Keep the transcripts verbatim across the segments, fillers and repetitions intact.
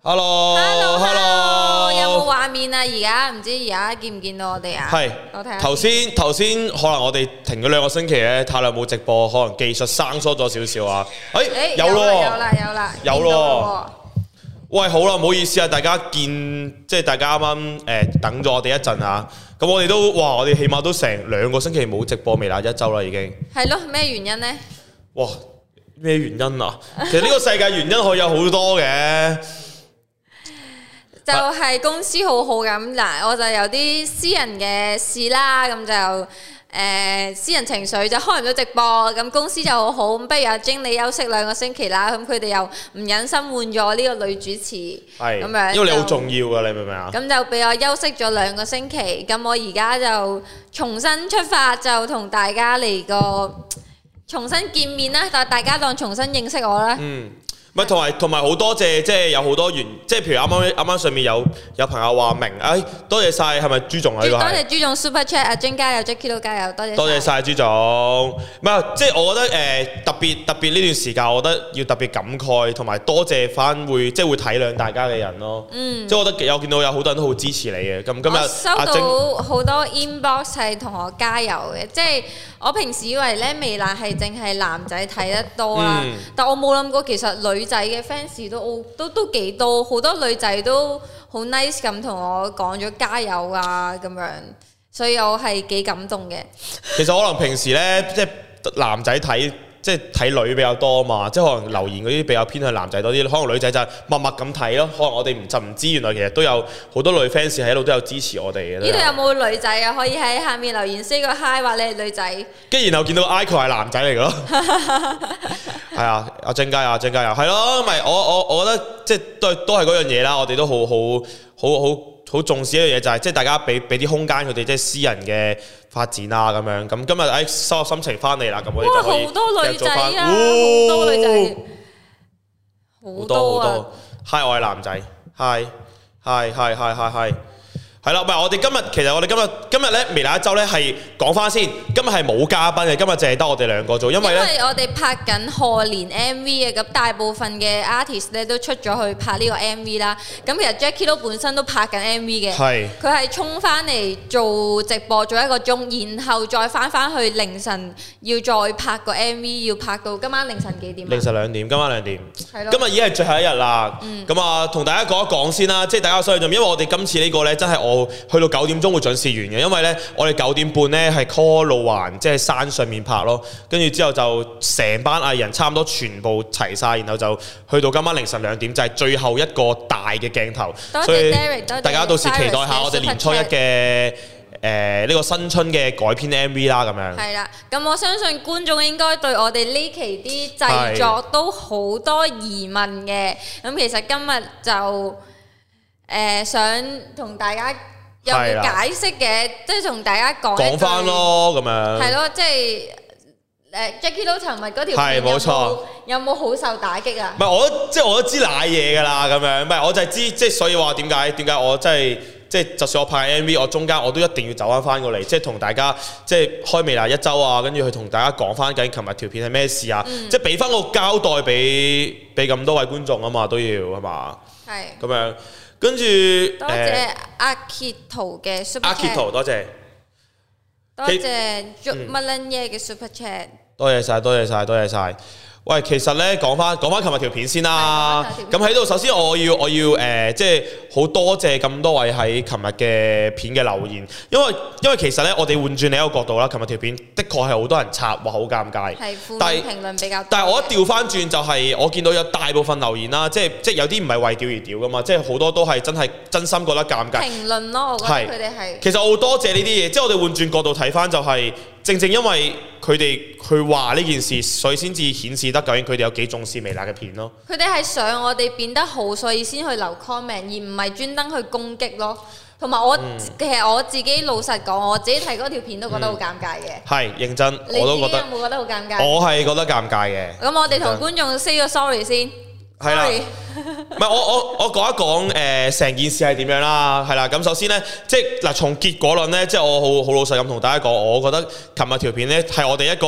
Hello，Hello，Hello， 有冇畫面啊？而家唔知而家見唔見到我哋啊？ 係， 我睇下頭先頭先可能我哋停咗兩個星期咧，太耐冇直播，可能技術生疏咗少少啊。誒、欸，有咯， 有啦，有啦， 有咯。喂，好啦，唔好意思啊，大家見即係大家啱啱誒等咗我哋一陣啊。咁我哋都哇，我哋起碼都成兩個星期冇直播微辣一周啦，已經。 係咯，咩原因呢？ 哇，咩原因啊？其實呢個世界原因可以有好多嘅。 就係公司好好咁嗱，我就有啲私人嘅事啦，咁就誒、呃、私人情緒就開唔到直播，咁公司就好好，不如阿經理休息兩個星期啦，咁佢哋又唔忍心換咗呢個女主持，係咁樣， 因為你好重要噶，你明唔明啊？ 咁就俾我休息咗兩個星期，咁我而家就重新出發，就同大家嚟個重新見面啦，但大家當重新認識我啦。嗯。 唔係，同埋同埋好多謝，即係有好多原，即係譬如啱啱啱啱上面有有朋友話明，誒多謝晒，係咪朱總啊？呢個係多謝朱總 Super Chat， 阿晶加油 ，Jackie 都加油，多謝多謝晒朱總。唔係，即係我覺得誒特別特別呢段時間，我覺得要特別感慨，同埋多謝翻會即係會體諒大家嘅人咯。嗯，即係我覺得有見到有好多人都好支持你嘅。咁今日收到好多 inbox 係同我加油嘅，即係我平時以為咧微辣係淨係男仔睇得多啦，嗯、但我冇諗過其實女仔嘅 fans 都都都幾多，好多女仔都好 nice 咁同我講咗加油啊咁樣，所以我係幾感動嘅。 其實可能平時呢，即係男仔睇即係睇女比較多嘛，即係可能留言嗰啲比較偏向男仔多啲，可能女仔就默默咁睇咯。可能我哋唔就唔知，原來其實都有好多女 fans 喺度都有支持我哋嘅。 呢度有冇女仔啊？可以喺下面留言 say 個 hi 話你係女仔。 跟住然後見到 icon 係男仔嚟嘅咯。係啊，阿晶加油，阿晶加油，係咯，咪我我我覺得即係都都係嗰樣嘢啦。我哋都好好好好好重視一樣嘢，就係即係大家俾俾啲空間佢哋，即係私人嘅發展啊咁樣。咁今日誒收拾心情翻嚟啦，咁我哋就可以好多女仔啊，好、 哦、 多女仔， 好多好多。Hi， 我係男仔。Hi，Hi，Hi，Hi，Hi，Hi。係啦，唔係我哋今日，其實我哋今日今日咧微辣一周咧係講翻先，今日係冇嘉賓嘅，今日淨係得我哋兩個做，因為咧， 因為我哋拍緊賀年 M V 嘅，咁大部分嘅 artist 咧都出咗去拍呢個 M V 啦。咁其實 Jackie 都本身都拍緊 M V 嘅，係佢係衝翻嚟做直播做一個鐘，然後再翻翻去凌晨要再拍個 M V， 要拍到今晚凌晨幾點？ 凌晨兩點，今晚兩點。 係咯。 今日已經係最後一日啦。咁啊、嗯，同大家講一講先啦，即係大家所以因為我哋今次呢個咧真係我。去到九點鐘會準時完嘅，因為呢，我哋九點半呢係 call 路環，即係山上面拍咯，跟住之後就成班藝人差唔多全部齊晒，然後就去到今晚凌晨兩點，就係最後一個大嘅鏡頭。 多謝所以 Derek， 大家到時期待下我哋年初一嘅誒呢個新春嘅改編 M V 啦，咁樣。係啦， 咁我相信觀眾應該對我哋呢期啲製作都好多疑問嘅。咁其實今日就誒、呃、想同大家。有冇解釋嘅，即係同大家講講翻咯，咁樣係咯，即係誒 Jackie 都尋日嗰條片有冇有冇好受打擊啊？ 唔係我即係我都知賴嘢㗎啦，咁樣唔係我就係知，即係所以話點解點解我真係即係就算我拍 M V， 我中間我都一定要走翻翻過嚟，即係同大家即係開微辣一周啊，跟住去同大家講翻緊琴日條片係咩事啊，嗯、即係俾翻個交代俾俾咁多位觀眾啊嘛，都要係嘛？係咁樣。跟住， 多謝阿傑圖嘅 Super Chat， 阿傑圖多謝， 多謝 Joe Maloney 嘅 Super Chat， 多謝晒，多謝晒，多謝晒。喂，其實咧講翻講翻琴日條片先啦。咁喺度，首先我要我要誒、呃，即係好多謝咁多位喺琴日嘅片嘅留言，因為因為其實咧，我哋換轉另一個角度啦，琴日條片的確係好多人插，話好尷尬。係負面評論比較多。 但係我一調翻轉就係、是，我見到有大部分留言啦，即係即係有啲唔係為屌而屌噶嘛，即係好多都係真係真心覺得尷尬。 評論咯，我覺得佢哋係。 其實我好多謝呢啲嘢，即係我哋換轉角度睇翻就係、是。正正因為佢哋去話呢件事，所以先至顯示得究竟佢哋有幾重視微辣嘅片咯。 佢哋係想我哋變得好，所以先去留 comment，而唔係專登去攻擊咯。同埋我、嗯、其實我自己老實講，我自己睇嗰條片都覺得好尷尬嘅。係、 嗯、認真，我都覺得。 你有冇覺得好尷尬？ 我係覺得尷尬嘅。 咁我哋同觀眾 say 個 sorry 先。 係啦，唔係我我我講一講誒成件事係點樣啦，係啦，咁首先咧，即係嗱從結果論咧，即係我好好老實咁同大家講，我覺得琴日條片咧係我哋一個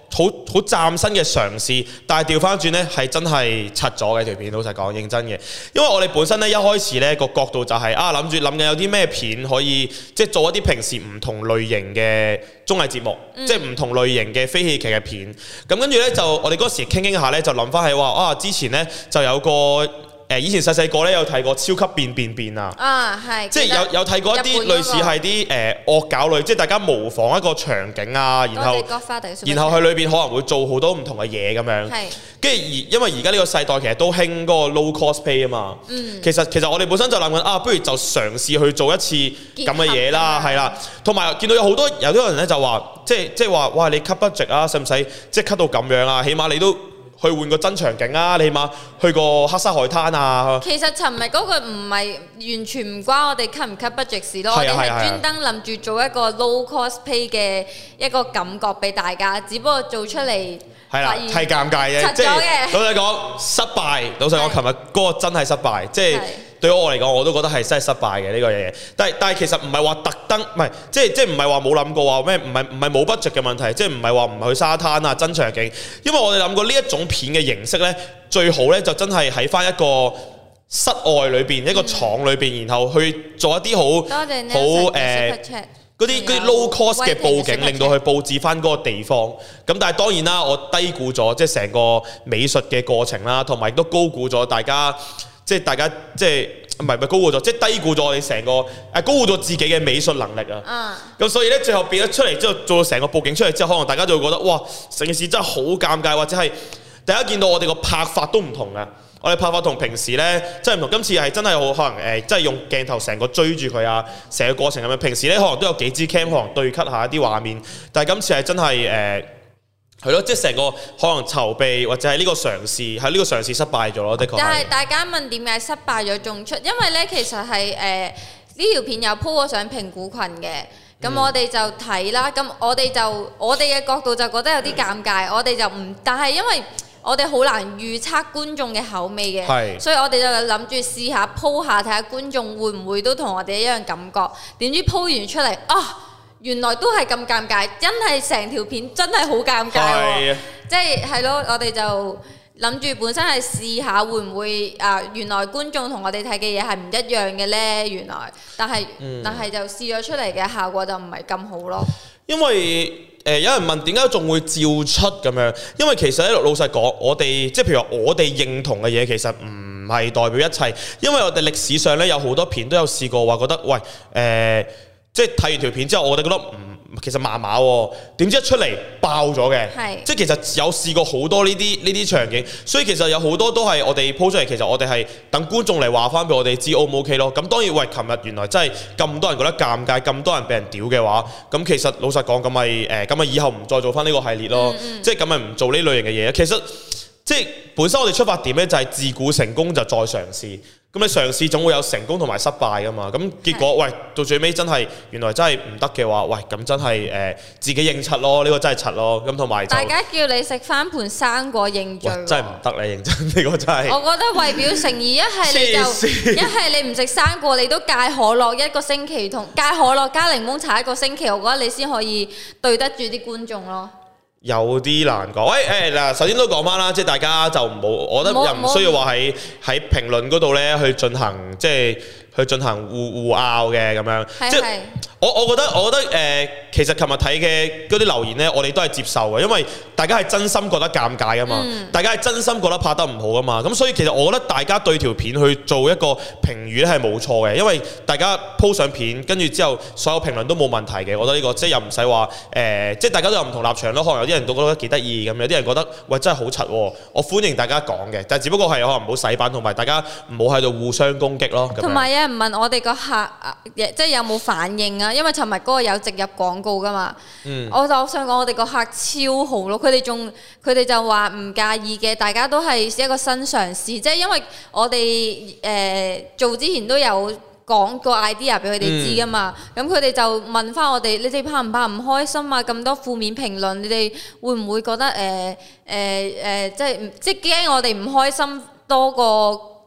好好嶄新嘅嘗試，但係調翻轉呢，係真係柒咗嘅條片，老實講認真嘅，因為我哋本身呢，一開始呢個角度就係、是、啊諗住諗緊有啲咩片可以即係做一啲平時唔同類型嘅綜藝節目，嗯、即係唔同類型嘅非戲劇嘅片。咁跟住呢，就我哋嗰時傾傾下呢，就諗翻起話啊之前呢，就有個。誒以前細細個咧有睇過超級變變變啊！啊係，即係有有睇過一啲類似係啲誒惡搞類，即係大家模仿一個場景啊，然後然後佢裏邊可能會做好多唔同嘅嘢咁樣。係，跟住而因為而家呢個世代其實都興嗰個 low cosplay 啊嘛。嗯。其實其實我哋本身就諗緊啊，不如就嘗試去做一次咁嘅嘢啦，係啦。同埋見到有好多有啲人咧就話，即係即係話，哇！你 cut budget 啊，使唔使即係 cut 到咁樣啊？起碼你都。去換個真場景啊！你起碼去個黑沙海灘啊！ 其實尋日嗰個唔係完全唔關我哋 cut 唔 cut budget 事咯，我哋係專登諗住做一個 low cosplay 嘅一個感覺俾大家，只不過做出嚟係啦，係尷尬嘅，即係老實講失敗。老實講，尋日嗰個真係失敗，即係。對我嚟講，我都覺得係真係失敗嘅呢個嘢。但係但係其實唔係話特登，唔係即係即係唔係話冇諗過話咩？唔係唔係冇 budget 嘅問題，即係唔係話唔去沙灘啊真場景。因為我哋諗過呢一種片嘅形式咧，最好咧就真係喺翻一個室外裏邊、嗯、一個廠裏邊，然後去做一啲好好誒嗰啲嗰啲 low cost 嘅佈景，令到佢佈置翻嗰個地方。咁但係當然啦，我低估咗即係成個美術嘅過程啦，同埋亦都高估咗大家。即係大家即係唔係唔係高估咗，即係低估咗我哋成個誒高估咗自己嘅美術能力啊！咁、嗯、所以咧，最後變咗出嚟之後，做成個佈景出嚟之後，可能大家就會覺得哇，成件事真係好尷尬，或者係大家見到我哋個拍法都唔同嘅。我哋拍法同平時咧真係唔同，今次係真係好可能誒，即、呃、係用鏡頭成個追住佢啊，成個過程咁樣。平時咧可能都有幾支 cam 可能對 cut 下一啲畫面，但係今次係真係誒。呃係咯，即係成個可能籌備或者係呢個嘗試，喺呢個嘗試失敗咗咯，的確。 但係大家問點解失敗咗仲出？因為咧其實係誒呢條片有 po 過上評估群嘅，咁、嗯、我哋就睇啦。咁我哋就我哋嘅角度就覺得有啲尷尬，嗯、我哋就唔，但係因為我哋好難預測觀眾嘅口味嘅，是所以我哋就諗住試下 po 下睇下觀眾會唔會都同我哋一樣感覺。點知 po 完出嚟啊！原來都係咁尷尬，真係成條片真係好尷尬喎！即係係咯，我哋就諗住本身係試下會唔會啊？原來觀眾同我哋睇嘅嘢係唔一樣嘅呢？原來，但係、嗯、但係就試咗出嚟嘅效果就唔係咁好咯。因為誒、呃、有人問點解仲會照出咁樣？因為其實咧老實講，我哋即係譬如話我哋認同嘅嘢，其實唔係代表一切。因為我哋歷史上咧有好多片都有試過話覺得喂誒。呃即係睇完條片之後，我哋覺得唔、嗯、其實麻麻喎，點知一出嚟爆咗嘅，是即係其實有試過好多呢啲呢啲場景，所以其實有好多都係我哋 po 出嚟，其實我哋係等觀眾嚟話翻俾我哋知 O 唔 OK 咯。咁當然喂，琴日原來真係咁多人覺得尷尬，咁多人俾人屌嘅話，咁其實老實講咁咪誒咁咪以後唔再做翻呢個系列咯，嗯嗯即係咁咪唔做呢類型嘅嘢。其實即係本身我哋出發點咧就係自古成功就再嘗試。咁你嘗試總會有成功同埋失敗噶嘛？咁結果喂到最尾真係原來真係唔得嘅話，喂咁真係誒、呃、自己認柒咯，呢、呢個真係柒咯。咁同埋大家叫你食翻盤生果認罪， 真係唔得你認真呢、呢個真係。 我覺得為表誠意，一係你就一係你唔食生果，你都戒可樂一個星期，同戒可樂加檸檬茶一個星期，我覺得你先可以對得住啲觀眾咯。 有啲難講，喂誒嗱，首先都講翻啦，即係大家就唔好，我覺得又唔需要話喺喺評論嗰度咧去進行即係去進行互互拗嘅咁樣，是是即係我我覺得我覺得誒、呃，其實琴日睇嘅嗰啲留言咧，我哋都係接受嘅，因為大家係真心覺得尷尬噶嘛，嗯、大家係真心覺得拍得唔好噶嘛，咁所以其實我覺得大家對條片去做一個評語咧係冇錯嘅，因為大家 po 上片，跟住之後所有評論都冇問題嘅，我覺得呢、這個即係又唔使話誒，即係大家都有唔同立場咯，可能有啲人都覺得幾得意咁，有啲人覺得喂真係好柒喎，我歡迎大家講嘅，但係只不過係可能唔好洗版，同埋大家唔好喺度互相攻擊咯。 同埋有人問我哋個客即係有冇反應啊？因為尋日嗰個有植入廣告噶嘛，嗯、我就想講我哋個客超好咯，佢哋仲佢哋就話唔介意嘅，大家都係一個新嘗試，即係因為我哋誒、呃、做之前都有講個 idea 俾佢哋知噶嘛，咁佢哋就問翻我哋：你哋怕唔怕唔開心啊？咁多負面評論，你哋會唔會覺得誒誒誒，即係即係驚我哋唔開心多過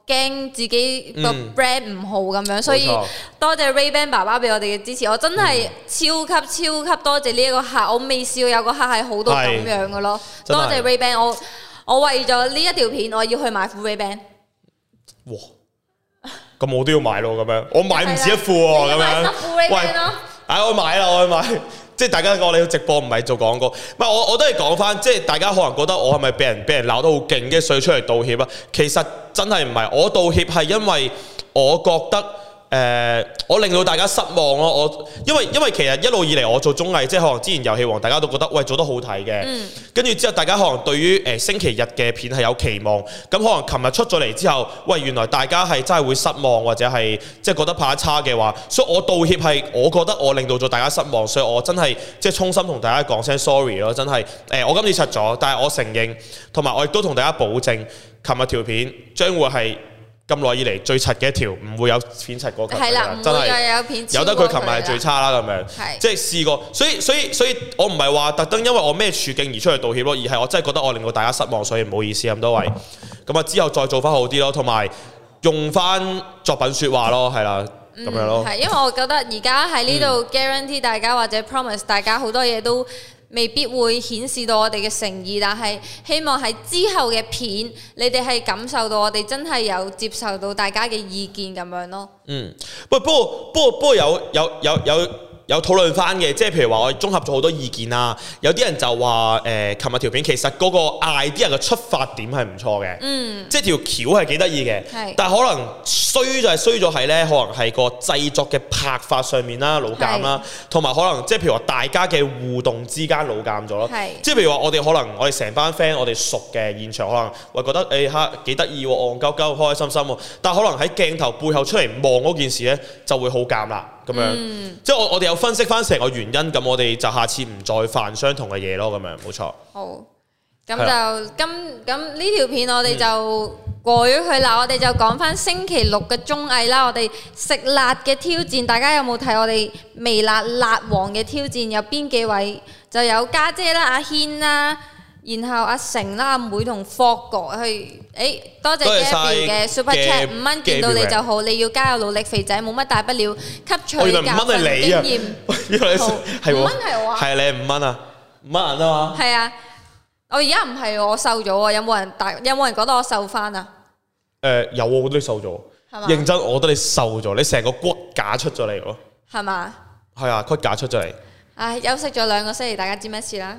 驚自己個嗯 brand 唔好咁樣，所以冇錯多謝 Ray-Ban 爸爸俾我哋嘅支持，我真係超級超級多謝呢一個客，我未試過有個客係好到咁樣嘅咯，多謝 Ray-Ban， 我我為咗呢一條片，我要去買副 Ray-Ban。 哇！咁我都要買咯，咁樣我買唔止一副喎，咁樣。 喂， 唉，我買啦，我去買。即係大家我哋直播唔係做廣告，唔係我我都係講翻，即係大家可能覺得我係咪俾人俾人鬧得好勁嘅，所以出嚟道歉啊？其實真係唔係，我道歉係因為我覺得。誒、呃，我令到大家失望咯！我因為因為其實一路以嚟我做綜藝，即係可能之前遊戲王大家都覺得喂做得好睇嘅，跟住、嗯、之後大家可能對於誒、呃、星期日嘅片係有期望，咁可能琴日出咗嚟之後，喂原來大家係真係會失望或者係即係覺得拍得差嘅話，所以我道歉係我覺得我令到咗大家失望，所以我真係即係衷心同大家講聲 sorry 咯，真係誒、呃、我今次柒咗，但係我承認，同埋我亦都同大家保證，琴日條片將會係。咁耐以嚟最柒嘅一條，唔會有片柒過佢。係啦， 真係有片有得佢琴日係最差啦咁樣。 係即係試過，所以所以所以我唔係話特登因為我咩處境而出嚟道歉咯，而係我真係覺得我令到大家失望，所以唔好意思咁多位。咁啊之後再做翻好啲咯，同埋用翻作品説話咯，係啦，咁樣咯。 係因為我覺得而家喺呢度 guarantee 大家或者 promise 大家好多嘢都未必會顯示到我哋嘅誠意，但係希望喺之後嘅片，你哋係感受到我哋真係有接受到大家嘅意見咁樣咯。 嗯，不過不過不過不過有有有有有討論翻嘅，即係譬如話我哋綜合咗好多意見啦。有啲人就話誒，琴日條片其實嗰個 idea 嘅出發點係唔錯嘅，嗯，即係條橋係幾得意嘅， 是但係可能衰就係衰咗係咧，可能係個製作嘅拍法上面啦，老尷啦，同埋是可能即係譬如話大家嘅互動之間老尷咗咯， 是即係譬如話我哋可能我哋成班 friend 我哋熟嘅現場可能會覺得誒嚇幾得意喎，戇鳩鳩開開心心喎，但係可能喺鏡頭背後出嚟望嗰件事咧就會好尷啦。咁樣，嗯、即係我我哋有分析翻成個原因，咁我哋就下次唔再犯相同嘅嘢咯，咁樣冇錯。 好，咁就的今咁呢條片我哋就過咗去啦，嗯、我哋就講翻星期六嘅綜藝啦，我哋食辣嘅挑戰，大家有冇睇我哋微辣辣王嘅挑戰？有邊幾位？就有家姐啦、阿軒啦。然後阿成啦、阿妹同霍哥去，誒多謝 Gabby 嘅 Super Chat 五蚊，見到你就好，你要加油努力，肥仔冇乜大不了，吸取教訓經驗。係五蚊係我啊， 係你五蚊啊，五蚊啊嘛。 係啊，我而家唔係我瘦咗啊，有冇人大？有冇人覺得我瘦翻啊？ 誒有，我覺得你瘦咗。係嘛？認真，我覺得你瘦咗，你成個骨架出咗嚟喎。係嘛？ 係啊，骨架出咗嚟。 唉，休息咗兩個星期，大家知咩事啦？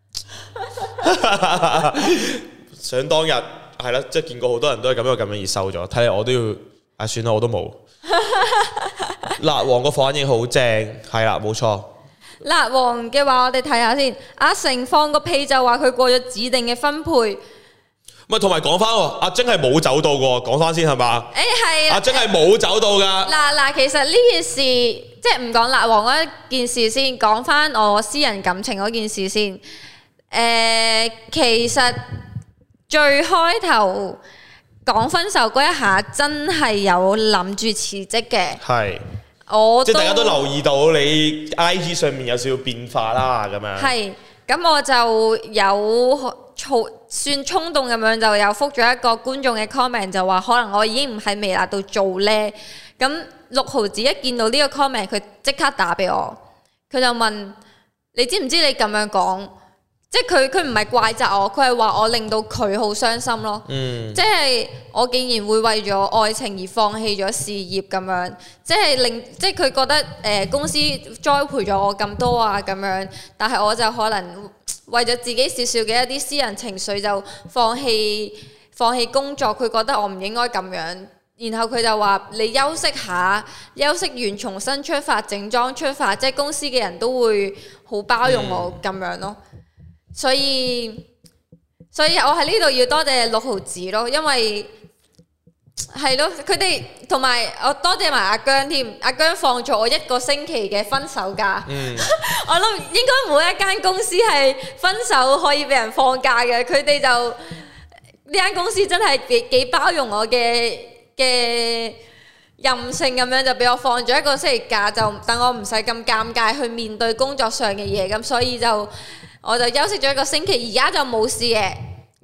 想當日係啦，即係見過好多人都係咁樣咁樣而瘦咗，睇嚟我都要，唉算啦，我都冇。辣王個反應好正，係啦，冇錯。 辣王嘅話，我哋睇下先。阿成放個屁就話佢過咗指定嘅分配。 咪同埋講翻喎，阿晶係冇走到嘅，講翻先係嘛？ 誒係啊， 阿晶係冇走到噶。 嗱嗱，其實呢件事即係唔講辣王嗰件事先，講翻我私人感情嗰件事先。誒、呃，其實最開頭講分手嗰一下，真係有諗住辭職嘅。係，我即係大家都留意到你 I G 上面有少少變化啦，咁樣。係， 咁我就有算衝動咁樣，就有覆咗一個觀眾嘅 comment， 就話可能我已經唔喺微辣度做呢。咁六毫子一見到呢個 comment， 佢即刻打俾我，佢就問：你知唔知你咁樣講？即係佢佢唔係怪責我，佢係話我令到佢好傷心咯。嗯，即係我竟然會為咗愛情而放棄咗事業咁樣，即係令即係佢覺得誒、呃、公司栽培咗我咁多啊咁樣，但係我就可能為咗自己少少嘅一啲私人情緒就放棄放棄工作，佢覺得我唔應該咁樣，然後佢就話你休息下，休息完重新出發，整裝出發，即係公司嘅人都會好包容我咁樣咯。所以，所以我喺呢度要多謝六毫子咯，因為係咯，佢哋同埋我多謝埋阿姜添，阿姜放咗我一個星期嘅分手假。嗯、我諗應該每一間公司係分手可以俾人放假嘅，佢哋就呢間公司真係幾幾包容我嘅嘅任性咁樣，就俾我放咗一個星期假，就等我唔使咁尷尬去面對工作上嘅嘢，咁所以就。我就休息咗一個星期，而家就冇事嘅，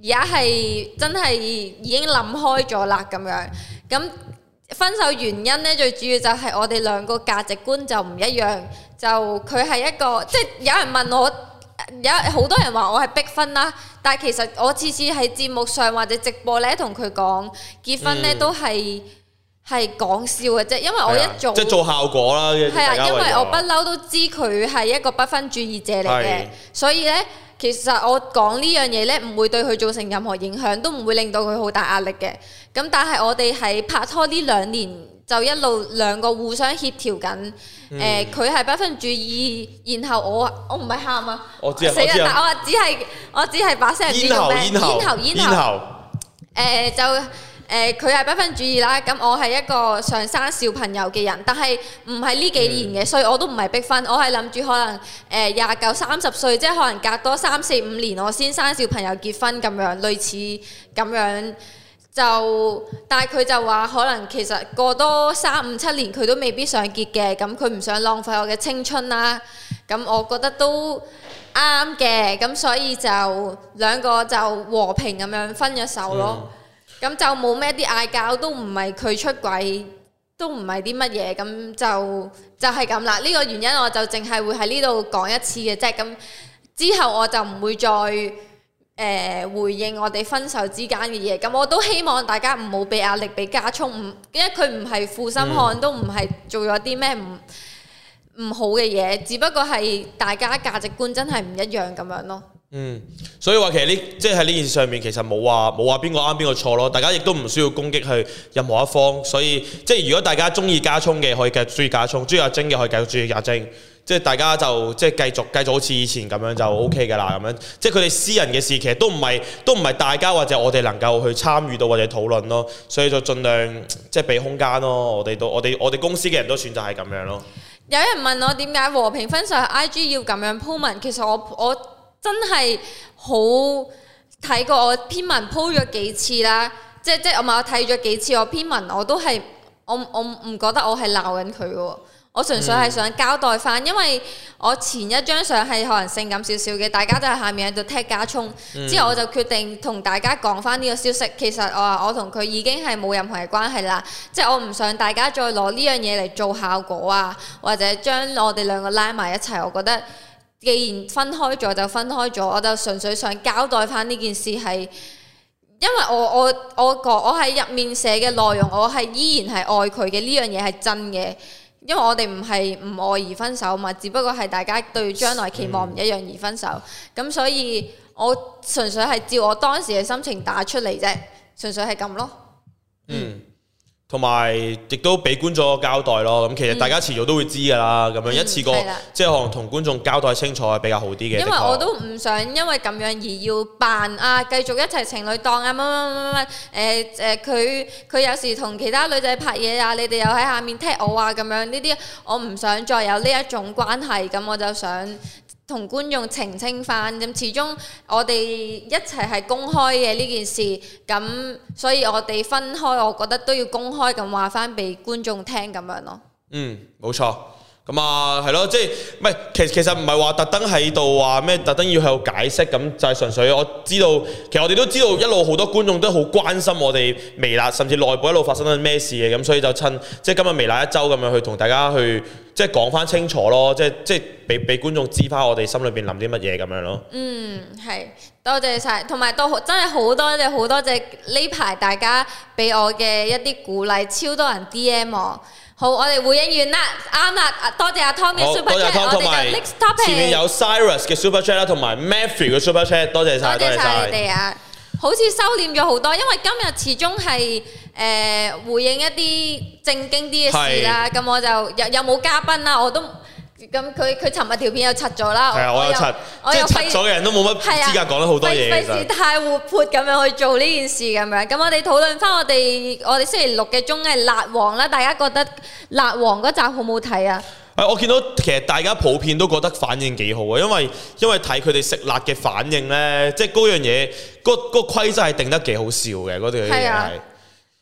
而家係真係已經諗開咗啦咁樣。咁分手原因呢，最主要就係我哋兩個價值觀就唔一樣。就佢係一個，即係有人問我，有好多人話我係逼婚啦。但係其實我次次喺節目上或者直播呢，同佢講結婚呢，都係係講笑嘅啫。因為我一做即係做效果啦。 係啊，因為我不嬲都知佢係一個不婚主義者嚟嘅，所以呢。其實我講呢樣嘢呢，唔會對佢造成任何影響，都唔會令到佢好大壓力嘅。咁但係我哋喺拍拖呢兩年，就一路兩個互相協調緊。誒、嗯，佢係、呃、不婚主義，然後我我唔係喊啊， 我知啊， 死啦！但我只係我只係把聲唔知做咩，咽喉咽喉誒就。誒佢係不婚主義啦，咁我係一個想生小朋友嘅人，但係唔係呢幾年嘅，嗯、所以我都唔係逼婚，我係諗住可能誒廿九三十歲，即係可能隔多三四五年我先生小朋友結婚咁樣，類似咁樣就，但係佢就話可能其實過多三五七年佢都未必想結嘅，咁佢唔想浪費我嘅青春啦，咁我覺得都啱嘅，咁所以就兩個就和平咁樣分咗手咯。嗯咁就冇咩啲嗌交，都唔係佢出軌，都唔係啲乜嘢，咁就就係咁啦。呢、這個原因我就淨係會喺呢度講一次嘅啫。咁之後我就唔會再誒、呃、回應我哋分手之間嘅嘢。咁我都希望大家唔好俾壓力俾家聰，唔因為佢唔係負心漢，嗯、都唔係做咗啲咩唔唔好嘅嘢，只不過係大家價值觀真係唔一樣咁樣咯。 嗯，所以話其實呢，即係喺呢件事上面，其實冇話冇話邊個啱邊個錯咯。大家亦都唔需要攻擊去任何一方。所以即係如果大家中意家聰嘅，可以繼續中意家聰；中意阿晶嘅，可以繼續中意阿晶。即係大家就即係繼續繼續好似以前咁樣就 O K 㗎啦。咁樣即係佢哋私人嘅事，其實都唔係都唔係大家或者我哋能夠去參與到或者討論咯。所以就盡量即係俾空間咯。我哋都我哋我哋公司嘅人都選擇係咁樣咯。 有人問我點解和平分手 I G 要咁樣鋪文，其實我我。真係好睇過我篇文鋪咗幾次啦，即係即係我咪我睇咗幾次我篇文，我都係我我唔覺得我係鬧緊佢嘅，我純粹係想交代翻，因為我前一張相係可能性感少少嘅，大家都喺下面喺度踢家聰，之後我就決定同大家講翻呢個消息。其實我話我同佢已經係冇任何嘅關係啦，即係我唔想大家再攞呢樣嘢嚟做效果啊，或者將我哋兩個拉埋一齊。我覺得既然分開咗就分開咗，我就純粹想交代翻呢件事係，因為我我我個我喺入面寫嘅內容，我係依然係愛佢嘅，呢樣嘢係真嘅，因為我哋唔係唔愛而分手嘛，只不過係大家對將來期望唔一樣而分手，咁、嗯、所以我純粹係照我當時嘅心情打出嚟啫，純粹係咁咯。嗯。 同埋亦都俾觀眾交代咯，咁其實大家遲早都會知㗎啦，咁樣、嗯、一次過，即係可能同觀眾交代清楚係比較好啲嘅。因為我都唔想因為咁樣而要扮啊，繼續一齊情侶檔啊，乜乜乜乜誒誒，佢佢有時同其他女仔拍嘢啊，你哋又喺下面踢我啊，咁樣呢啲我唔想再有呢一種關係，咁我就想同觀眾澄清翻，咁始終我哋一齊係公開嘅呢件事，咁所以我哋分開，我覺得都要公開咁話翻俾觀眾聽咁樣咯。 嗯，冇錯。咁啊，係咯，即係唔係？其實其實唔係話特登喺度話咩，特登要喺度解釋，咁就係純粹我知道，其實我哋都知道一路好多觀眾都好關心我哋微辣，甚至內部一路發生緊咩事嘅，咁所以就趁即係今日微辣一周咁樣去同大家去即係講翻清楚咯，即係即係俾俾觀眾知翻我哋心裏邊諗啲乜嘢咁樣咯。嗯， 係多謝晒，同埋都真係好多謝好多謝呢排大家俾我嘅一啲鼓勵，超多人 D M 我。好，我哋回應完啦，啱啦，多謝阿 Tom 嘅 Super Chat， 我哋嘅 next topic 前面有 Cyrus 嘅 Super Chat 啦，同埋 Matthew 嘅 Super Chat， 多謝晒， 多謝晒你哋啊！好似收斂咗好多，因為今日始終係誒回應一啲正經啲嘅事啦，咁我就有有冇嘉賓啦，我都。咁佢佢尋日條片又柒咗啦， 係啊，我有柒，即係柒咗嘅人都冇乜資格講得好多嘢， 費事太活潑咁樣去做呢件事咁樣。咁我哋討論翻我哋我哋星期六嘅綜藝《辣王》啦，大家覺得《辣王》嗰集好唔好睇啊？ 誒，我見到其實大家普遍都覺得反應幾好啊，因為因為睇佢哋食辣嘅反應咧，即係嗰樣嘢，嗰嗰個規則係定得幾好笑嘅，嗰條嘢係。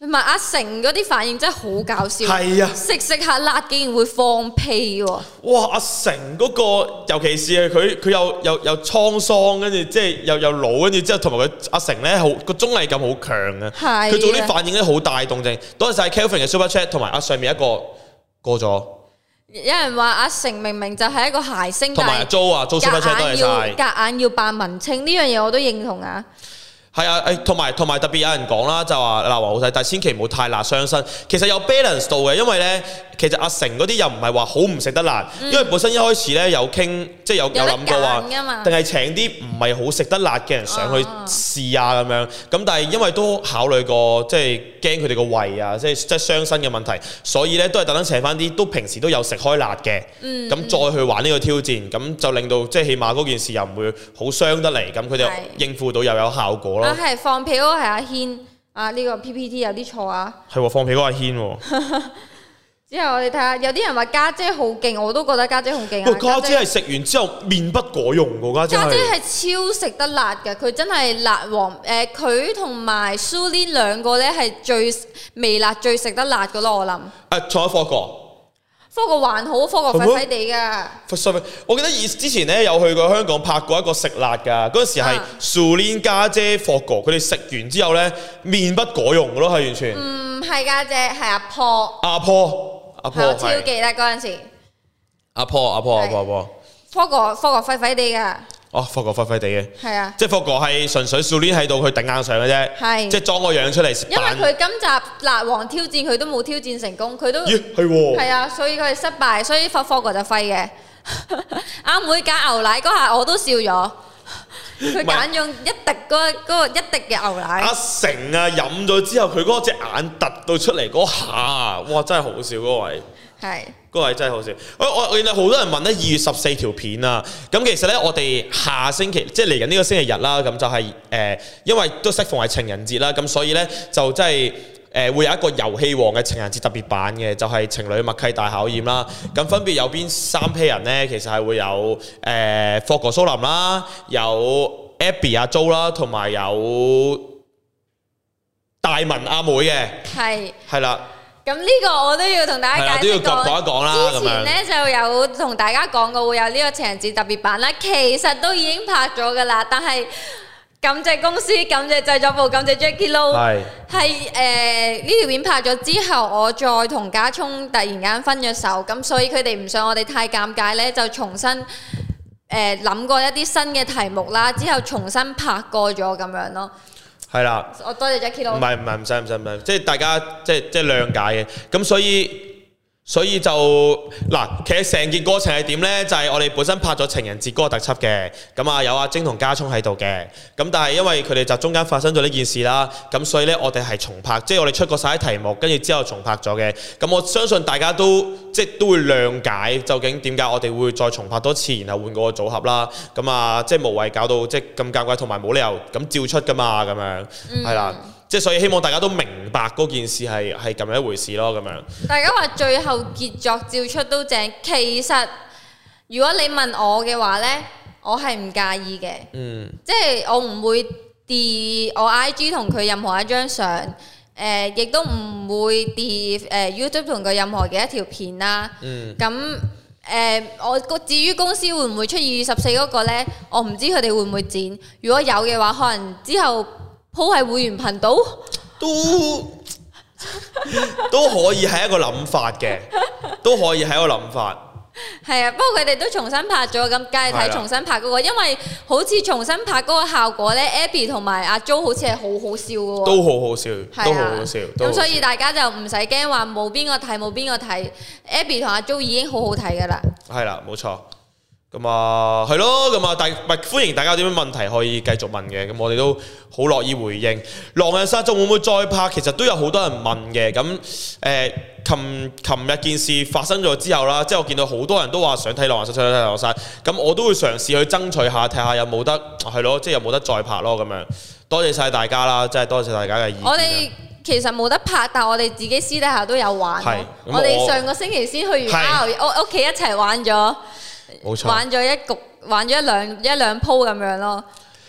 同埋阿成嗰啲反應真係好搞笑， 係啊， 食食下辣竟然會放屁喎！ 哇！阿成嗰、個，尤其是係佢佢有有有滄桑，跟住即係又又老，跟住之後同埋佢阿成咧好個綜藝感好強啊！ 係佢做啲反應咧好大動靜。多謝晒 Kelvin 嘅 Super Chat 同埋啊上面一個過咗。 有人話阿成明明就係一個諧星， 同埋阿 Jo 啊 Jo Super Chat 多謝晒。 夾硬要扮文青呢樣嘢我都認同啊！ 係啊，誒同埋同埋特別有人講啦，就話辣王好睇，但係千祈唔好太辣傷身。其實有 balance 到嘅，因為咧其實阿成嗰啲又唔係話好唔食得辣，嗯、因為本身一開始咧有傾，即係有有諗過話，定係請啲唔係好食得辣嘅人上去試啊咁樣。咁但係因為都考慮過，即係驚佢哋個胃啊，即係即係傷身嘅問題，所以咧都係特登請翻啲都平時都有食開辣嘅，咁、嗯、再去玩呢個挑戰，咁就令到即係起碼嗰件事又唔會好傷得嚟，咁佢哋應付到又有效果咯。 啊，係放屁嗰個係阿軒啊！呢、這個 P P T 有啲錯啊。係喎，放屁嗰個阿軒喎。 之後我哋睇下，有啲人話家姐好勁，我都覺得家姐好勁啊。 家姐係食完之後面不改容㗎，家姐。家姐係超食得辣嘅，佢真係辣王。誒，佢同埋 Sulin 兩個咧係最微辣、最食得辣㗎咯，我諗。 誒，仲有霍哥。 科國還好，科國廢廢地㗎。 我記得以之前咧有去過香港拍過一個食辣㗎，嗰陣時係 Sulin 家姐、霍哥，佢哋食完之後咧面不改容㗎咯，係完全。 唔係家姐，係阿婆。阿婆，阿婆， 我超記得嗰陣時。 阿婆，阿婆，阿婆，阿婆。 科國，科國廢廢地㗎。 哦，霍哥廢廢地嘅， 係啊， 即係霍哥係純粹 Sulin 喺度去頂硬上嘅啫，係，即係裝個樣出嚟食。 因為佢今集辣王挑戰佢都冇挑戰成功，佢都咦係喎， 係啊，所以佢係失敗，所以霍霍哥就廢嘅。阿妹揀牛奶嗰下我都笑咗，佢揀用一滴嗰嗰個一滴嘅牛奶。 阿成啊飲咗之後，佢嗰隻眼突到出嚟嗰下，哇真係好笑嗰個位。係，嗰個係真係好笑。我我我見到好多人問咧，二月十四條片啊，咁其實咧我哋下星期即係嚟緊呢個星期日啦，咁就係、是、誒、呃，因為都適逢係情人節啦，咁所以咧就即係誒會有一個遊戲王嘅情人節特別版嘅，就係、是、情侶默契大考驗啦。咁分別有邊三批人咧？其實係會有誒霍哥蘇林啦，有 Abby 阿 Jo 啦，同埋有大文阿妹嘅，係係啦。 咁呢個我都要同大家解釋講一講啦。 之前咧就有同大家講過會有呢個情人節特別版啦，其實都已經拍咗噶啦，但係感謝公司、感謝製作部、感謝 Jacky Lou， 係係誒呢條片拍咗之後，我再同家聰突然間分咗手，咁所以佢哋唔想我哋太尷尬咧，就重新誒諗過一啲新嘅題目啦，之後重新拍過咗咁樣咯。 係啦， 我多謝 Jacky Lou。 唔係唔係唔使唔使唔使，即係大家即係即係諒解嘅。咁所以所以就嗱，其實成件過程係點呢？就係、是、我哋本身拍咗情人節嗰個特輯嘅，咁啊有阿晶同家聰喺度嘅。咁但係因為佢哋就中間發生咗呢件事啦，咁所以呢，我哋係重拍，即係我哋出過晒啲題目，跟住之後重拍咗嘅。咁我相信大家都即係都會諒解，究竟點解我哋會再重拍多次，然後換個組合啦。咁啊，即係無謂搞到即係咁尷尬，同埋冇理由咁照出噶嘛，咁樣係啦。嗯即係所以希望大家都明白嗰件事係係咁樣一回事咯，咁樣。 大家話最後傑作照出都正，其實如果你問我嘅話呢，我係唔介意嘅。嗯。即係我唔會 delete 我 I G 同佢任何一張相，誒、呃，亦都唔會 delete 誒 YouTube 同佢任何嘅一條片啦。嗯。咁誒、呃，我至於公司會唔會出二月十四嗰個呢？我唔知佢哋會唔會剪。如果有嘅話，可能之後。鋪喺會員頻道都都可以係一個諗法嘅，都可以係一個諗法。 係啊，不過佢哋都重新拍咗，咁梗係睇重新拍嗰個，因為好似重新拍嗰個效果咧 ，Abby 同埋阿 Jo 好似係好好笑嘅喎， 都好好笑，都好好笑。 咁所以大家就唔使驚話冇邊個睇冇邊個睇 ，Abby 同阿 Jo 已經好好睇㗎啦。係啦，冇錯。咁啊，係咯，咁啊，大唔歡迎大家有啲咩問題可以繼續問嘅，咁我哋都好樂意回應。狼人殺仲會唔會再拍？其實都有好多人問嘅。咁誒，琴琴日件事發生咗之後啦，即係我見到好多人都話想睇狼人殺，想睇狼人殺。咁我都會嘗試去爭取下，睇下有冇得係咯，即係有冇得再拍咯咁樣。多謝晒大家啦，真係多謝大家嘅意見。 我哋其實冇得拍，但係我哋自己私底下都有玩。我哋上個星期先去完 R，屋屋企一齊玩咗。冇錯，玩咗一局，玩咗一兩一兩鋪咁樣咯。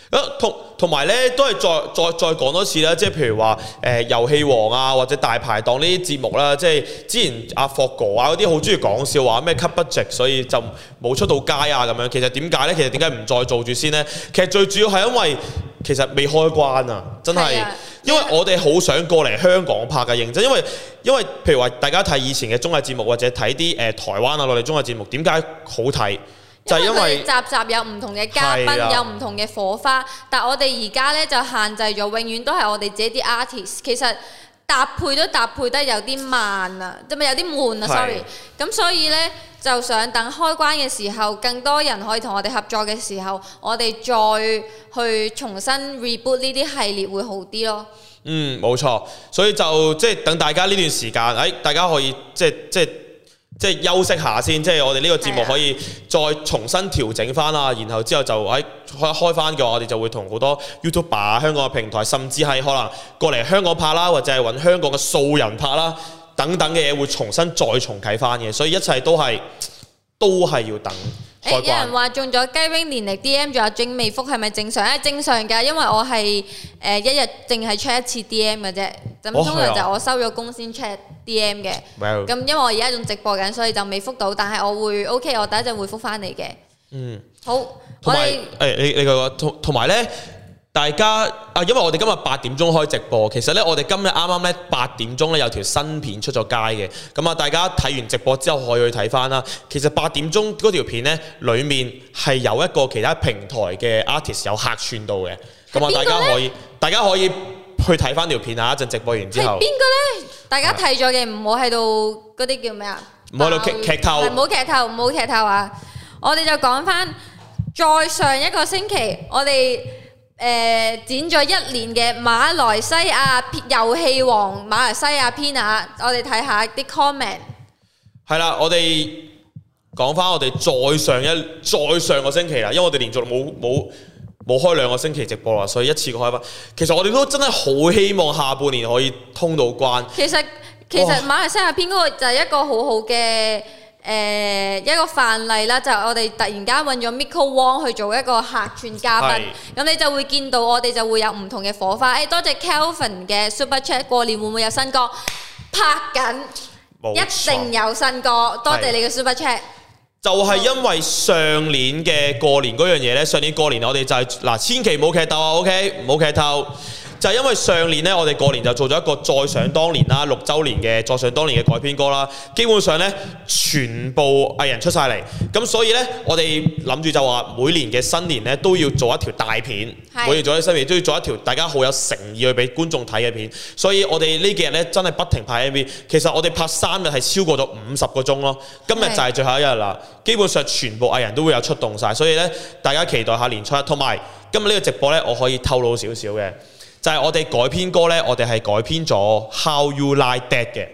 同同埋咧，都係再再再講多次啦，即係譬如話誒遊戲王啊，或者大排檔呢啲節目啦，即係之前阿霍哥啊嗰啲好中意講笑話咩 cut budget，所以就冇出到街啊咁樣。其實點解咧？其實點解唔再做住先咧？其實最主要係因為其實未開關啊，真係，啊、因為我哋好想過嚟香港拍嘅認真，因為因為譬如話大家睇以前嘅綜藝節目或者睇啲誒台灣啊內地綜藝節目，點解好睇？就係因為集集有唔同嘅嘉賓，啊、有唔同嘅火花，但係我哋而家咧就限制咗，永遠都係我哋自己啲 artist。其實搭配都搭配得有啲慢啊，即係有啲悶啊，sorry。咁所以咧就想等開關嘅時候，更多人可以同我哋合作嘅時候，我哋再去重新 reboot 呢啲系列會好啲咯。 嗯，冇錯，所以就即係等大家呢段時間，誒、哎，大家可以即係即係。即係休息下先，即係我哋呢個節目可以再重新調整翻啦，然後之後就喺開開翻嘅話，我哋就會同好多 YouTuber 香港嘅平台，甚至係可能過嚟香港拍啦，或者係揾香港嘅素人拍啦，等等嘅嘢會重新再重啟翻嘅，所以一切都係都係要等。誒，有人話中咗雞 wing 年歷 D M 仲有正未覆係咪正常？誒，正常㗎，因為我係誒、呃、一日淨係 check 一次 D M 嘅啫。咁通常就我收咗工先 check D M 嘅。咁、哦、因為我而家仲直播緊，所以就未覆到。但係我會 OK，我第一陣會覆翻你嘅。嗯。好。同埋誒，你你個同同埋咧。大家啊，因為我哋今日八點鐘開直播，其實咧我哋今日啱啱咧八點鐘咧有條新片出咗街嘅，咁啊大家睇完直播之後可以去睇翻啦。其實八點鐘嗰條片咧，裡面係有一個其他平台嘅 artist 有客串到嘅，咁啊大家可以大家可以去睇翻條片啊！一陣直播完之後， 係邊個咧？大家睇咗嘅唔好喺度嗰啲叫咩啊？ 唔好喺度劇劇透， 唔好劇透，唔好劇透啊！我哋就講翻，再上一個星期我哋。誒、呃、剪咗一年嘅馬來西亞遊戲王馬來西亞篇啊，我哋睇下啲 comment。係啦，我哋講翻我哋再上一再上個星期啦，因為我哋連續冇冇冇開兩個星期直播啦，所以一次過開翻。其實我哋都真係好希望下半年可以通到關。 其實其實馬來西亞篇嗰個就係一個好好嘅。誒、呃、一個範例啦，就係、我哋突然間揾咗 Miko Wong 去做一個客串嘉賓，咁你就會見到我哋就會有唔同嘅火花。誒、哎，多謝 Kelvin 嘅 Super Chat， 過年會唔會有新歌？拍緊，一定有新歌。多謝你嘅 Super Chat。 就係因為上年嘅過年嗰樣嘢呢，上年過年我哋就係、是、嗱，千祈唔好劇透啊 ，OK， 唔好劇透。就係因為上年呢，我哋過年就做咗一個再想當年啦，六週年嘅再想當年嘅改編歌啦。基本上呢，全部藝人出晒嚟，咁所以呢，我哋諗住就話每年嘅新年呢，都要做一條大片，每年做一新年都要做一條大家好有誠意去俾觀眾睇嘅片。所以我哋呢幾日呢，真係不停拍 M V。其實我哋拍三日係超過咗五十個鐘咯。今日就係最後一日啦，基本上全部藝人都會有出動晒。所以呢，大家期待下年初一。同埋今日呢個直播呢，我可以透露少少嘅。就係我哋改編歌呢，我哋係改編咗 How You Like That 嘅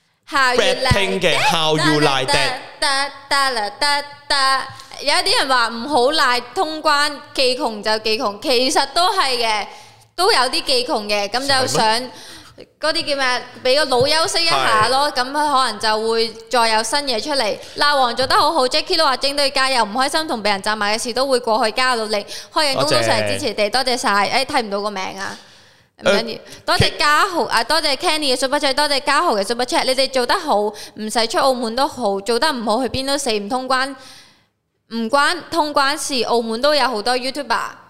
Blackpink 嘅 How You Like That。 有啲人話唔好賴通關，技窮就技窮，其實都係嘅，都有啲技窮嘅，咁就想嗰啲叫咩？俾個腦休息一下咯，咁佢可能就會再有新嘢出嚟。鬧王做得好好 ，Jackie 都話整隊加油，唔開心同被人責罵嘅事都會過去，加努力，開緊工都成日支持你，多謝晒。誒，睇唔到個名啊！唔緊要，多謝嘉豪啊，多謝 Kenny 嘅 Super Chat， 多謝嘉豪嘅 Super Chat。你哋做得好，唔使出澳門都好，做得唔好去邊都死，唔通關，唔關通關事。澳門都有好多 YouTuber。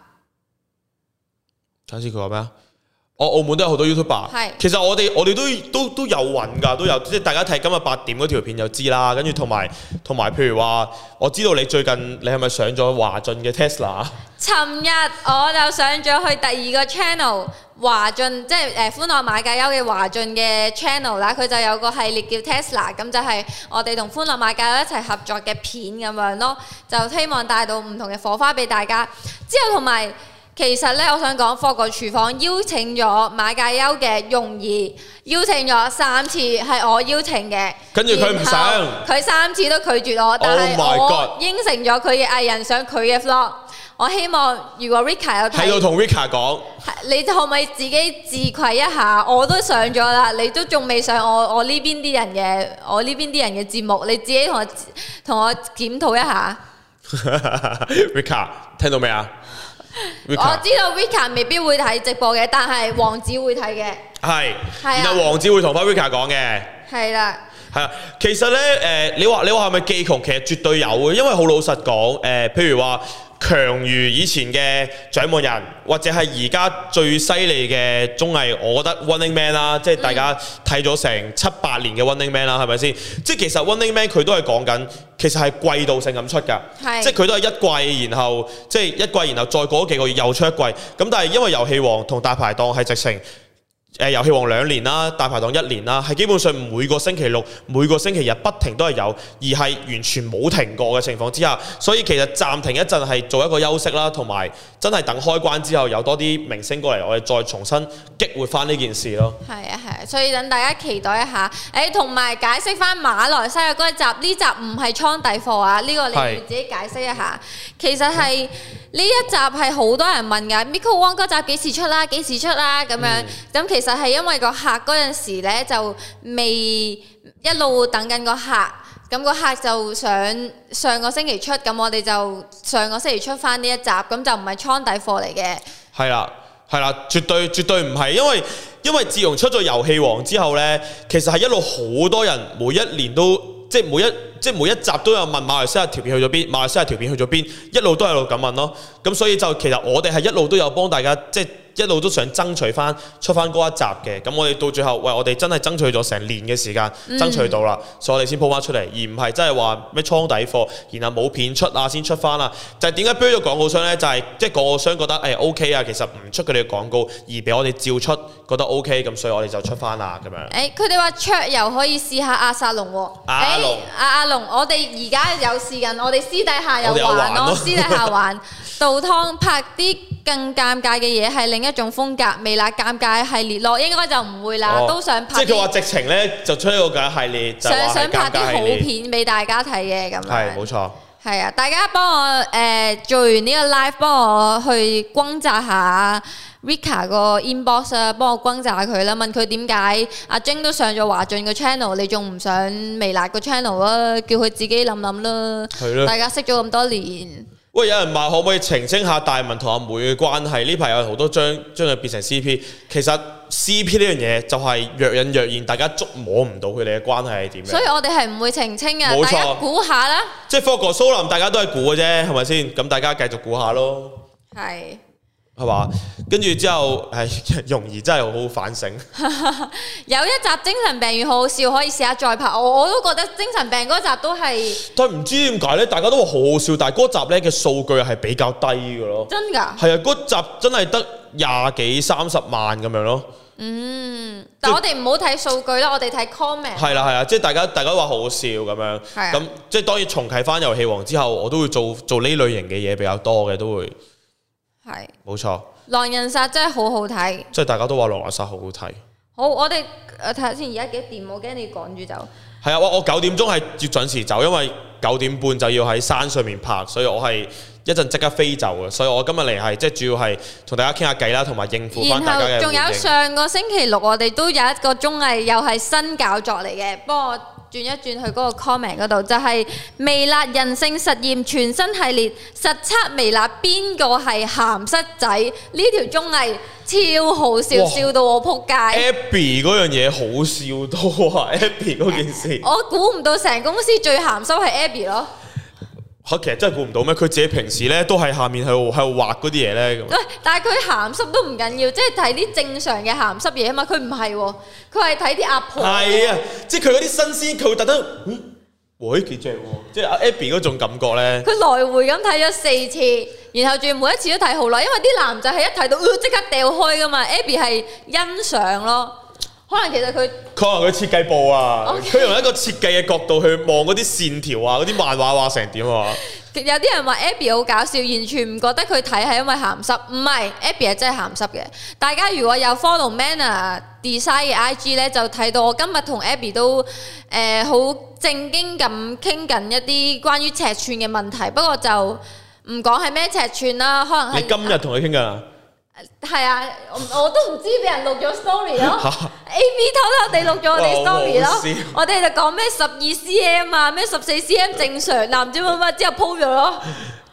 睇下先佢話咩啊？我澳門都有好多 YouTuber。係。其實我哋我哋都都都有揾㗎，都有即係大家睇今日八點嗰條片就知啦。跟住同埋同埋，譬如話，我知道你最近你係咪上咗華俊嘅 Tesla？ 尋日我就上咗去第二個 channel。華俊即係誒歡樂馬介休嘅華俊嘅 channel 啦，佢就有個系列叫 Tesla， 咁就係我哋同歡樂馬介休一齊合作嘅片咁樣咯，就希望帶到唔同嘅火花俾大家。之後同埋其實呢，我想講霍哥廚房邀請咗馬介休嘅容兒，邀請咗三次，係我邀請嘅， 跟住佢唔想， 佢三次都拒絕我，但係我應承咗佢嘅藝人上佢嘅 vlog。我希望如果 Rika 有睇， 喺度同 Rika 講， 你可唔可以自己自愧一下？我都上咗啦，你都仲未上我我呢邊啲人嘅我呢邊啲人嘅節目，你自己同我同我檢討一下。 Rika 聽到未啊？ 我知道 Rika 未必會睇直播嘅，但係王子會睇嘅。 係，然後王子會同翻 Rika 講嘅。 係啦。 係啊，其實咧誒、呃，你話你話係咪技窮？其實絕對有嘅，因為好老實講誒、呃，譬如話強如以前嘅掌門人，或者係而家最犀利嘅綜藝，我覺得 Running Man 啦，即係大家睇咗成七八年嘅 Running Man 啦，係咪先？即係其實 Running Man 佢都係講緊，其實係季度性咁出㗎，即係佢都係一季，然後即係一季，然後再過幾個月又出一季。咁但係因為遊戲王同大排檔係直情。誒遊戲王兩年啦，大排檔一年啦，係基本上每個星期六、每個星期日不停都係有，而係完全冇停過嘅情況之下，所以其實暫停一陣係做一個休息啦，同埋真係等開關之後有多啲明星過嚟，我哋再重新激活翻呢件事咯。係啊係啊，所以等大家期待一下。誒同埋解釋翻馬來西亞嗰一集，呢集唔係倉底貨啊，呢、呢個你要自己解釋一下。其實係呢、嗯、一集係好多人問㗎 ，Miko Wong 嗰集幾時出啦？幾時出啦？咁樣咁、嗯、其實係因為個客嗰陣時咧就未一路等緊個客，咁個客就想上個星期出，咁我哋就上個星期出翻呢一集，咁就唔係倉底貨嚟嘅。係啦，係啦，絕對絕對唔係，因為因為自從出咗遊戲王之後咧，其實係一路好多人每一年都即係每一即係每一集都有問馬來西亞條片去咗邊，馬來西亞條片去咗邊，一路都喺度咁問咯。咁所以就其實我哋係一路都有幫大家即係。一路都想爭取翻出翻嗰一集嘅，咁我哋到最後，喂，我哋真係爭取咗成年嘅時間，嗯、爭取到啦，所以我哋先鋪翻出嚟，而唔係真係話咩倉底貨，然後冇片出啊先出翻啦。就係點解俾咗廣告商呢？就係即係廣告商覺得誒、哎、OK 啊，其實唔出佢哋嘅廣告，而俾我哋照出，覺得 OK，咁所以我哋就出翻啦咁樣。 誒，佢哋話桌遊可以試下阿薩龍喎。阿龍，阿阿龍，我哋而家有試緊，我哋私底下有玩咯，私底下玩倒湯拍啲更尷尬嘅嘢係另一種風格，微辣尷尬系列咯，應該就唔會啦，哦、都想拍。即係佢話直情咧就出一個咁系列，就想想拍啲好片俾大家睇嘅咁樣。 係冇錯。 係啊，大家幫我誒、呃、做完呢個 live，幫我去轟炸下 Rika 個 inbox 啊，幫我轟炸佢啦，問佢點解阿晶都上咗華俊個 channel， 你仲唔上微辣個 channel 啊？叫佢自己諗諗啦。係咯。大家識咗咁多年。 喂，有人問可唔可以澄清下大文同阿妹嘅關係？呢排有好多將將佢變成 C P， 其實 C P 呢樣嘢就係若隱若現，大家捉摸唔到佢哋嘅關係係點樣。 所以我哋係唔會澄清嘅，大家估下啦。 即係霍哥蘇林，大家都係估嘅啫，係咪先？咁大家繼續估下咯。 係。 係嘛？跟住之後，係容易真係好好反省。 有一集精神病院好好笑，可以試下再拍。我我都覺得精神病嗰集都係。 但係唔知點解咧？大家都話好好笑，但係嗰集咧嘅數據係比較低嘅咯。 真㗎？ 係啊，嗰集真係得廿幾三十萬咁樣咯。 嗯，但我哋唔好睇數據啦，我哋睇 comment。 係啦係啦，即係大家大家話好好笑咁樣。係。咁即係當然重啟翻遊戲王之後，我都會做做呢類型嘅嘢比較多嘅，都會。係，冇錯。狼人殺真係好好睇，即係大家都話狼人殺好好睇。好，我哋睇下先，而家幾點？我驚你趕住走。係啊，我我九點鐘係要準時走，因為九點半就要喺山上面拍，所以我係一陣即刻飛走嘅。所以我今日嚟係即係主要係同大家傾下偈啦，同埋應付翻大家嘅。然後仲有上個星期六，我哋都有一個綜藝，又係新搞作嚟嘅，幫我轉一轉去嗰個 comment 嗰度，就係、是、微辣人性實驗全新系列，實測微辣邊個係鹹濕仔。呢條綜藝超好笑，笑到我撲街。Abby 嗰樣嘢好笑到啊！Abby 嗰件事，我估唔到成公司最鹹濕係 Abby 咯。嚇，其實真係估唔到咩？佢自己平時咧都係下面喺度喺度畫嗰啲嘢咧咁。喂，但係佢鹹濕都唔緊要，即係睇啲正常嘅鹹濕嘢啊嘛。佢唔係喎，佢係睇啲阿婆。係啊，即係佢嗰啲新鮮，佢會特登嗯，喂幾正喎！即係阿 Abby 嗰種感覺咧。佢來回咁睇咗四次，然後仲要每一次都睇好耐，因為啲男仔係一睇到即、呃、刻掉開噶嘛。Abby 係欣賞咯。可能其實佢，可能佢設計部啊，佢、okay. 用一個設計嘅角度去望嗰啲線條啊，嗰啲漫畫畫成點啊？有啲人話 Abby 好搞笑，完全唔覺得佢睇係因為鹹濕，唔係 Abby 係真係鹹濕嘅。大家如果有 follow Manner Design 嘅 I G 咧，就睇到我今日同 Abby 都誒好、呃、正經咁傾緊一啲關於尺寸嘅問題，不過就唔講係咩尺寸啦，可能係你今日同佢傾緊啊？係啊，我我都唔知俾人錄咗 story 咯，A B 偷偷地錄咗我哋 story 咯，我哋就講咩十二 cm 啊，咩十四 cm 正常，男唔知乜乜之後 po 咗咯，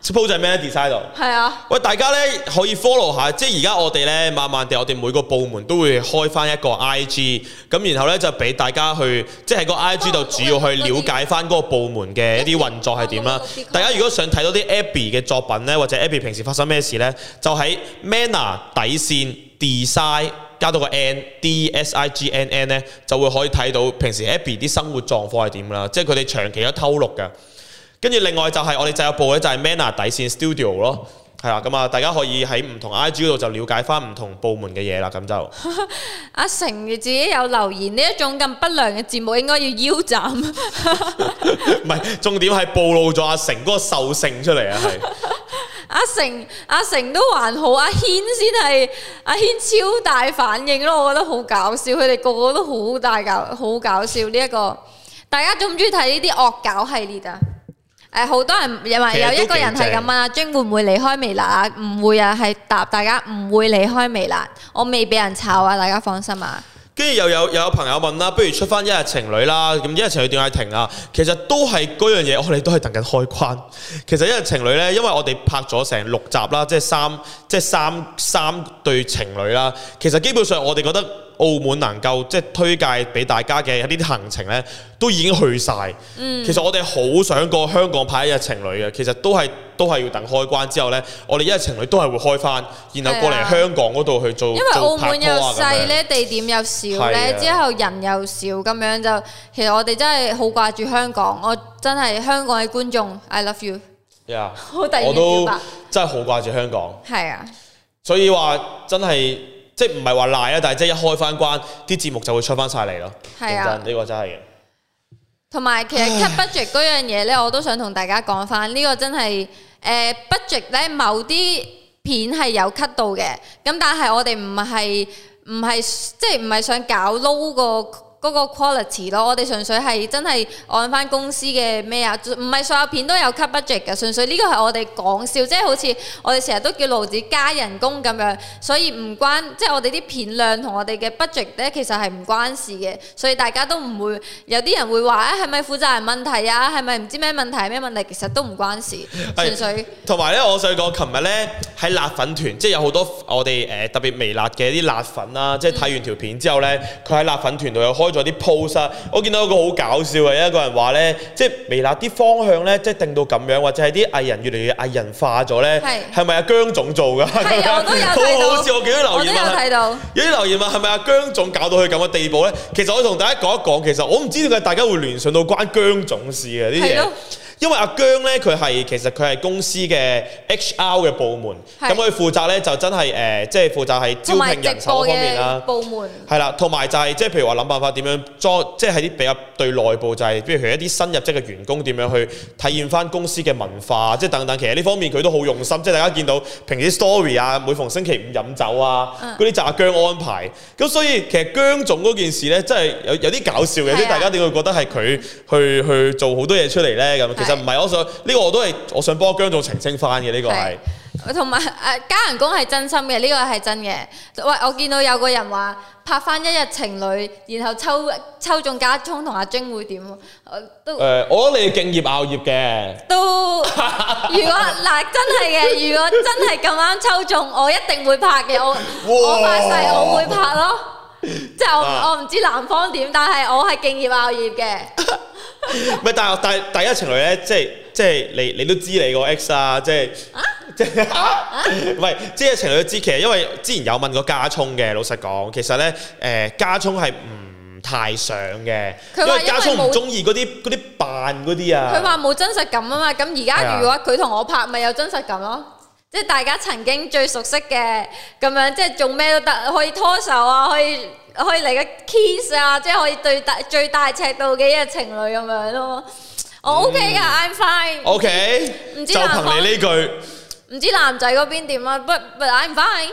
po 就係 Melody side 度。 係啊。 喂，大家咧可以 follow 下，即係而家我哋咧慢慢地，我哋每個部門都會開翻一個 I G， 咁然後咧就俾大家去，即係喺個 I G 度主要去了解翻嗰個部門嘅一啲運作係點啦。大家如果想睇到啲 Abby 嘅作品咧，或者 Abby 平時發生咩事咧，就喺 Manner 底線 Design。加到個 N D S I G N N 咧，就會可以睇到平時 Abby 啲生活狀況係點啦，即係佢哋長期都偷錄嘅。跟住另外就係我哋製作部咧，就係 Manner 底線 Studio 咯，係啦，咁啊大家可以喺唔同 I G 嗰度就了解翻唔同部門嘅嘢啦，咁就阿成自己有留言，呢一種咁不良嘅節目應該要腰斬。 唔係，重點係暴露咗阿成嗰個獸性出嚟啊，係。 阿成阿成都還好，阿軒先係阿軒超大反應咯，我覺得好搞笑，佢哋個個都好大搞好搞笑呢一、這個。大家中唔中意睇呢啲惡搞系列啊？誒，好多人因為有一個人係咁問阿晶會唔會離開微辣啊？唔會啊，係答大家唔會離開微辣，我未俾人炒啊，大家放心啊。 跟住又有又有朋友問啦，不如出翻一日情侶啦，咁一日情侶點解停啊？其實都係嗰樣嘢，我哋都係等緊開關。其實一日情侶呢，因為我哋拍咗成六集啦，即係三即係三三對情侶啦。其實基本上我哋覺得澳門能夠即係推介俾大家嘅呢啲行程呢，都已經去晒。嗯、其實我哋好想過香港拍一日情侶嘅，其實都係都係要等開關之後呢，我哋一日情侶都係會開翻，然後過嚟香港嗰度去做。因為澳門又細呢，地點又少呢，之後人又少咁樣就，其實我哋真係好掛住香港。我真係香港嘅觀眾 ，I love you。 Yeah, 好突然我都表白真係好掛住香港。 係啊， 所以話真係。即係唔係話賴啊，但係即係一開翻關，啲節目就會出翻晒嚟咯。係啊，呢個真係嘅。同埋其實 cut budget 嗰樣嘢咧，我都想同大家講翻，呢個真係誒 budget 咧，某啲片係有 cut 到嘅，咁但係我哋唔係唔係即係唔係想搞 low 個嗰個 quality 咯，我哋純粹係真係按翻公司嘅咩啊，唔係所有片都有 cut budget 嘅，純粹呢個係我哋講笑，即係好似我哋成日都叫盧子加人工咁樣，所以唔關即係我哋啲片量同我哋嘅 budget 咧，其實係唔關事嘅，所以大家都唔會有啲人會話啊，係咪負責人問題啊，係咪唔知咩問題係咩問題，其實都唔關事，純粹。同埋咧，我想講，琴日咧喺辣粉團，即係有好多我哋誒、呃、特別微辣嘅啲辣粉啦，即係睇完條片之後咧，佢喺辣粉團度又開咗啲 post 啊，我見到有個好搞笑嘅，一個人話咧，即係微辣啲方向咧，即係定到咁樣，或者係啲藝人越嚟越藝人化咗咧，係咪阿姜總做㗎？係啊，我都有睇到。好好笑，我見到留言話，睇到有啲留言話係咪阿姜總搞到佢咁嘅地步咧？其實我同大家講一講，其實我唔知點解大家會聯想到關姜總事嘅呢啲嘢。因為阿姜咧，佢係其實佢係公司嘅 H R 嘅部門，咁佢負責咧就真係誒、呃，即係負責係招聘人手方面啦。部門係啦，同埋就係、是、即係譬如話諗辦法點樣裝，即係喺啲比較對內部就係、是，譬如一啲新入職嘅員工點樣去體驗翻公司嘅文化，即係等等。其實呢方面佢都好用心，即係大家見到平時 story 啊，每逢星期五飲酒啊，嗰啲、嗯、就阿姜安排。咁所以其實姜總嗰件事咧，真係有有啲搞笑嘅，即係大家點會覺得係佢去去做好多嘢出嚟咧？咁其實唔係，我想呢、呢個我都係我想幫姜總澄清翻嘅，呢、呢個係。同埋誒加人工係真心嘅，呢、呢個係真嘅。喂，我見到有個人話拍翻一日情侶，然後抽抽中家聰同阿晶會點？都誒、呃，我覺得你敬業熬業嘅。都如果嗱真係嘅，如果真係咁啱抽中，我一定會拍嘅。我我發誓我會拍咯。即係我、啊、我唔知男方點，但係我係敬業熬業嘅。唔係，但係但係第一情侶咧，即係即係你你都知你個 X 啊，即係即係唔係即係情侶都知。其實因為之前有問過家聰嘅，老實講，其實咧誒、呃、家聰係唔太想嘅，因為家聰唔中意嗰啲嗰啲扮嗰啲啊。佢話冇真實感啊嘛，咁而家如果佢同我拍，咪有真實感咯。即係大家曾經最熟悉嘅咁樣，即係做咩都得，可以拖手啊，可以可以嚟個 kiss 啊，即係可以對大最大尺度嘅一日情侶咁樣咯。我 OK 㗎、嗯、，I'm fine。OK，唔知就憑你呢句，唔知男仔嗰邊點啊 ？But but I'm fine。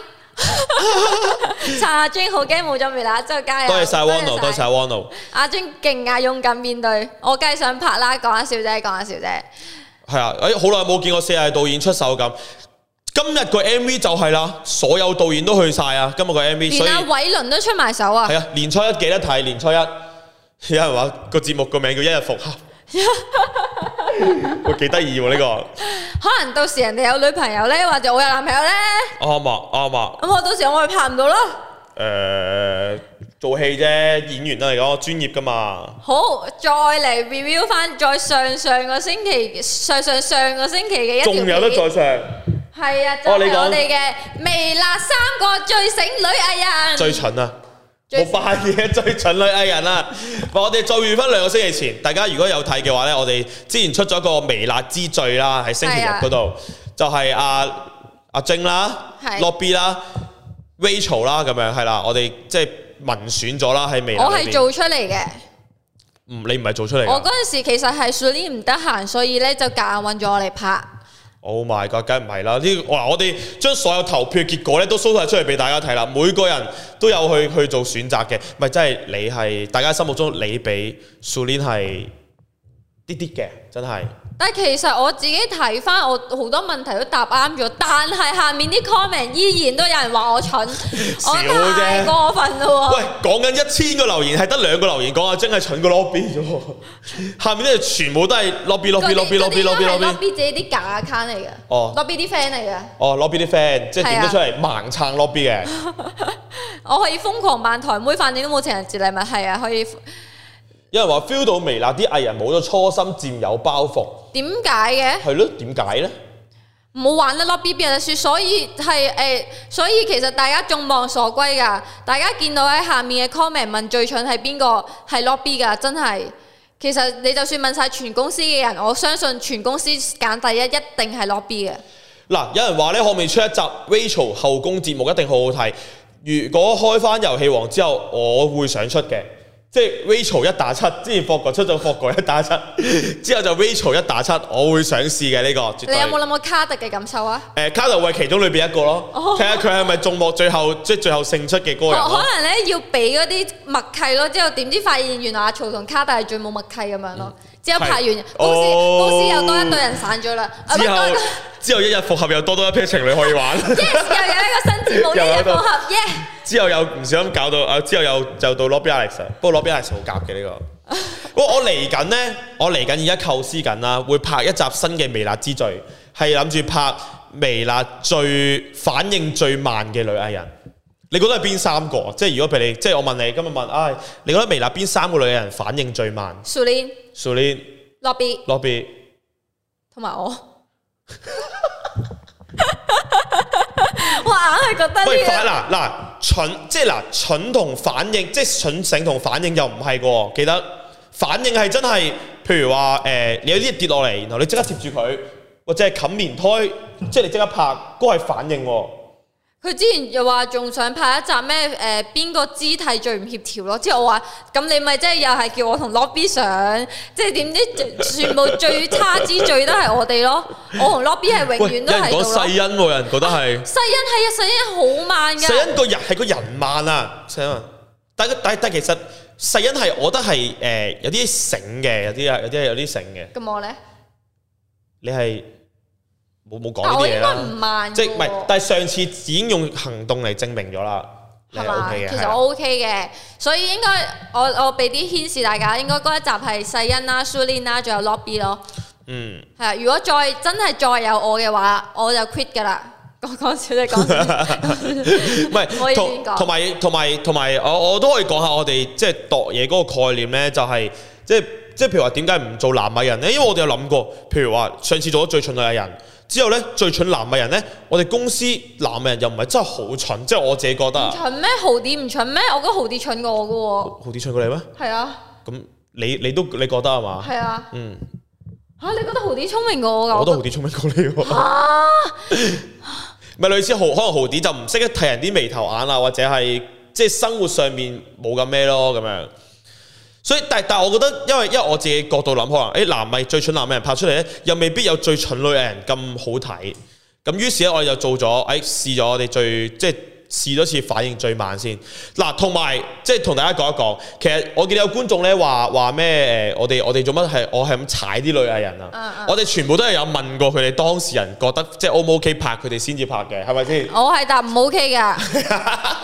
阿晶好驚冇咗微辣，之後加油！多謝晒 Wano， 多謝晒 Wano。阿晶勁啊，勇敢面對，我梗係想拍啦，講下笑啫，講下笑啫。係啊，誒好耐冇見過四大導演出手咁。今日個 M V 就係啦，所有導演都去晒啊！今日個 M V， 連阿偉倫都出埋手啊！係啊，年初一記得睇，年初一有人話個節目個名叫一日復合， 會幾得意喎呢個。 可能到時人哋有女朋友咧，或者我有男朋友咧。 啱啊啱啊。 咁我到時我咪拍唔到咯。 誒，做戲啫，演員都嚟講專業噶嘛。 好，再嚟 review 翻，再上上個星期，上上上個星期嘅一條片。 仲有得再上。 係啊，就係我哋嘅微辣三個最醒女藝人。 最蠢啊！冇扮嘢，最蠢女藝人啊！我哋再預翻兩個星期前，大家如果有睇嘅話咧，我哋之前出咗個微辣之最啦，喺星期日嗰度，就係阿阿晶啦、Lobby 啦、Rachel 啦咁樣，係啦，我哋即係民選咗啦喺微辣。 我係做出嚟嘅。 唔，你唔係做出嚟。 我嗰陣時其實係 Sulin 唔得閒，所以咧就夾硬揾咗我嚟拍。 Oh my god，梗唔係啦！呢哇，我哋將所有投票結果咧都 show 晒出嚟俾大家睇啦，每個人都有去去做選擇嘅，咪真係你係大家心目中你比 Sulin 係啲啲嘅，真係。 但係其實我自己睇翻，我好多問題都答啱咗，但係下面啲 comment 依然都有人話我蠢，我太過分啦喎！ 喂，講緊一千個留言係得兩個留言講阿晶係蠢過 Lobby 啫喎，下面咧全部都係 Lobby Lobby Lobby Lobby Lobby Lobby 自己啲假 account 嚟嘅，哦 Lobby 啲 friend 嚟嘅， 哦 Lobby 啲 friend 即係點得出嚟盲撐 Lobby 嘅， 我可以瘋狂扮台妹，反正都冇情人節禮物，係啊，可以。 有人話 feel 到微辣啲藝人冇咗初心，佔有包袱。點解嘅？ 係咯，點解咧？ 唔好玩得 Lobby 邊有得輸，所以係誒、呃，所以其實大家眾望所歸㗎。大家見到喺下面嘅 comment 問最蠢係邊個？係 Lobby 㗎，真係。其實你就算問晒全公司嘅人，我相信全公司揀第一一定係 Lobby 嘅。 嗱，有人話咧，可唔可以出一集 Rachel 後宮節目，一定好好睇。如果開翻遊戲王之後，我會想出嘅。即係 Rachel 一打七，之前霍哥出咗霍哥一打七，之後就 Rachel 一打七，我會想試嘅呢個。絕對。 你有冇諗過卡特嘅感受啊？ 誒、呃，卡特會係其中裏邊一個咯，睇下佢係咪眾目最後即係最後勝出嘅嗰個人。 可能咧要俾嗰啲默契咯，之後點知發現原來阿曹同卡特係最冇默契咁樣咯。之後拍完公司、哦、公司又多一對人散咗啦。之後之後一日復合又多多一 pair 情侶可以玩。 Yes， 又有一個新節目一日復合，耶！ 之後又唔小心搞到啊！之後又就到 Lobby Alex， 不過 Lobby Alex 好夾嘅呢個。我我嚟緊呢，我嚟緊而家構思緊啦，會拍一集新嘅微辣之最，係諗住拍微辣最反應最慢嘅女藝人。你覺得係邊三個？即係如果譬如你，即係我問你今日問，唉、哎，你覺得微辣邊三個女藝人反應最慢 ？Sulin、 Sulin、 Lobby、 Lobby， 同埋我。我硬係覺得呢、這個。喂，反嗱嗱蠢，即係嗱蠢同反應，即係蠢醒同反應又唔係嘅。記得反應係真係，譬如話誒、呃，你有啲嘢跌落嚟，然後你即刻貼住佢，或者係冚棉胎，即係你即刻拍，嗰個係反應。佢之前又話仲想拍一集咩？誒、呃，邊個肢體最唔協調咯？之後我話咁你咪即係又係叫我同 Lobby 上，即係點知全部最差之最都係我哋咯。我同 Lobby 係永遠都喺度咯。有人講世欣喎，有人覺得係世欣係啊，世欣好慢㗎。世欣個人係個人慢啊，世欣。但但但其實世欣係我覺得係誒、呃、有啲醒嘅，有啲有啲有啲醒嘅。咁我咧？你係？冇冇講呢啲嘢啦，唔慢即係唔係？但係上次已經用行動嚟證明咗啦，係嘛？其實我 OK 嘅，所以應該我我俾啲顯示大家，應該嗰一集係世欣啦、Sulin 啦，仲有 Lobby 咯。嗯，係啊。如果再真係再有我嘅話，我就 quit 㗎啦。講講笑啫，講笑。唔係，同同埋同埋同埋，我我都可以講下我哋即係度嘢嗰個概念咧，就係即係即係譬如話點解唔做男藝人咧？因為我哋有諗過，譬如話上次做咗最蠢女藝人。之後咧，最蠢男藝人咧，我哋公司男藝人又唔係真係好蠢，即係我自己覺得。唔蠢咩？豪啲唔蠢咩？我覺得豪啲蠢過我噶喎。豪啲蠢過你咩？係啊。咁你你都你覺得係嘛？係啊。嗯。嚇、啊！你覺得豪啲聰明過我㗎？我覺得豪啲聰明過你喎。嚇、啊！咪類似豪，可能豪啲就唔識得睇人啲眉頭眼啊，或者係即係生活上面冇咁咩咯咁樣。所以，但但係我覺得，因為因為我自己角度諗，可能誒男藝最蠢男藝人拍出嚟咧，又未必有最蠢女藝人咁好睇。咁於是咧，我哋就做咗誒、哎、試咗我哋最即係試多次反應最慢先。嗱，同埋即係同大家講一講，其實我見到有觀眾咧話話咩誒，我哋我哋做乜係我係咁踩啲女藝人啊？嗯嗯、我哋全部都係有問過佢哋當事人覺得即係 O 唔 OK 拍佢哋先至拍嘅，係咪先？我係答唔 OK 㗎。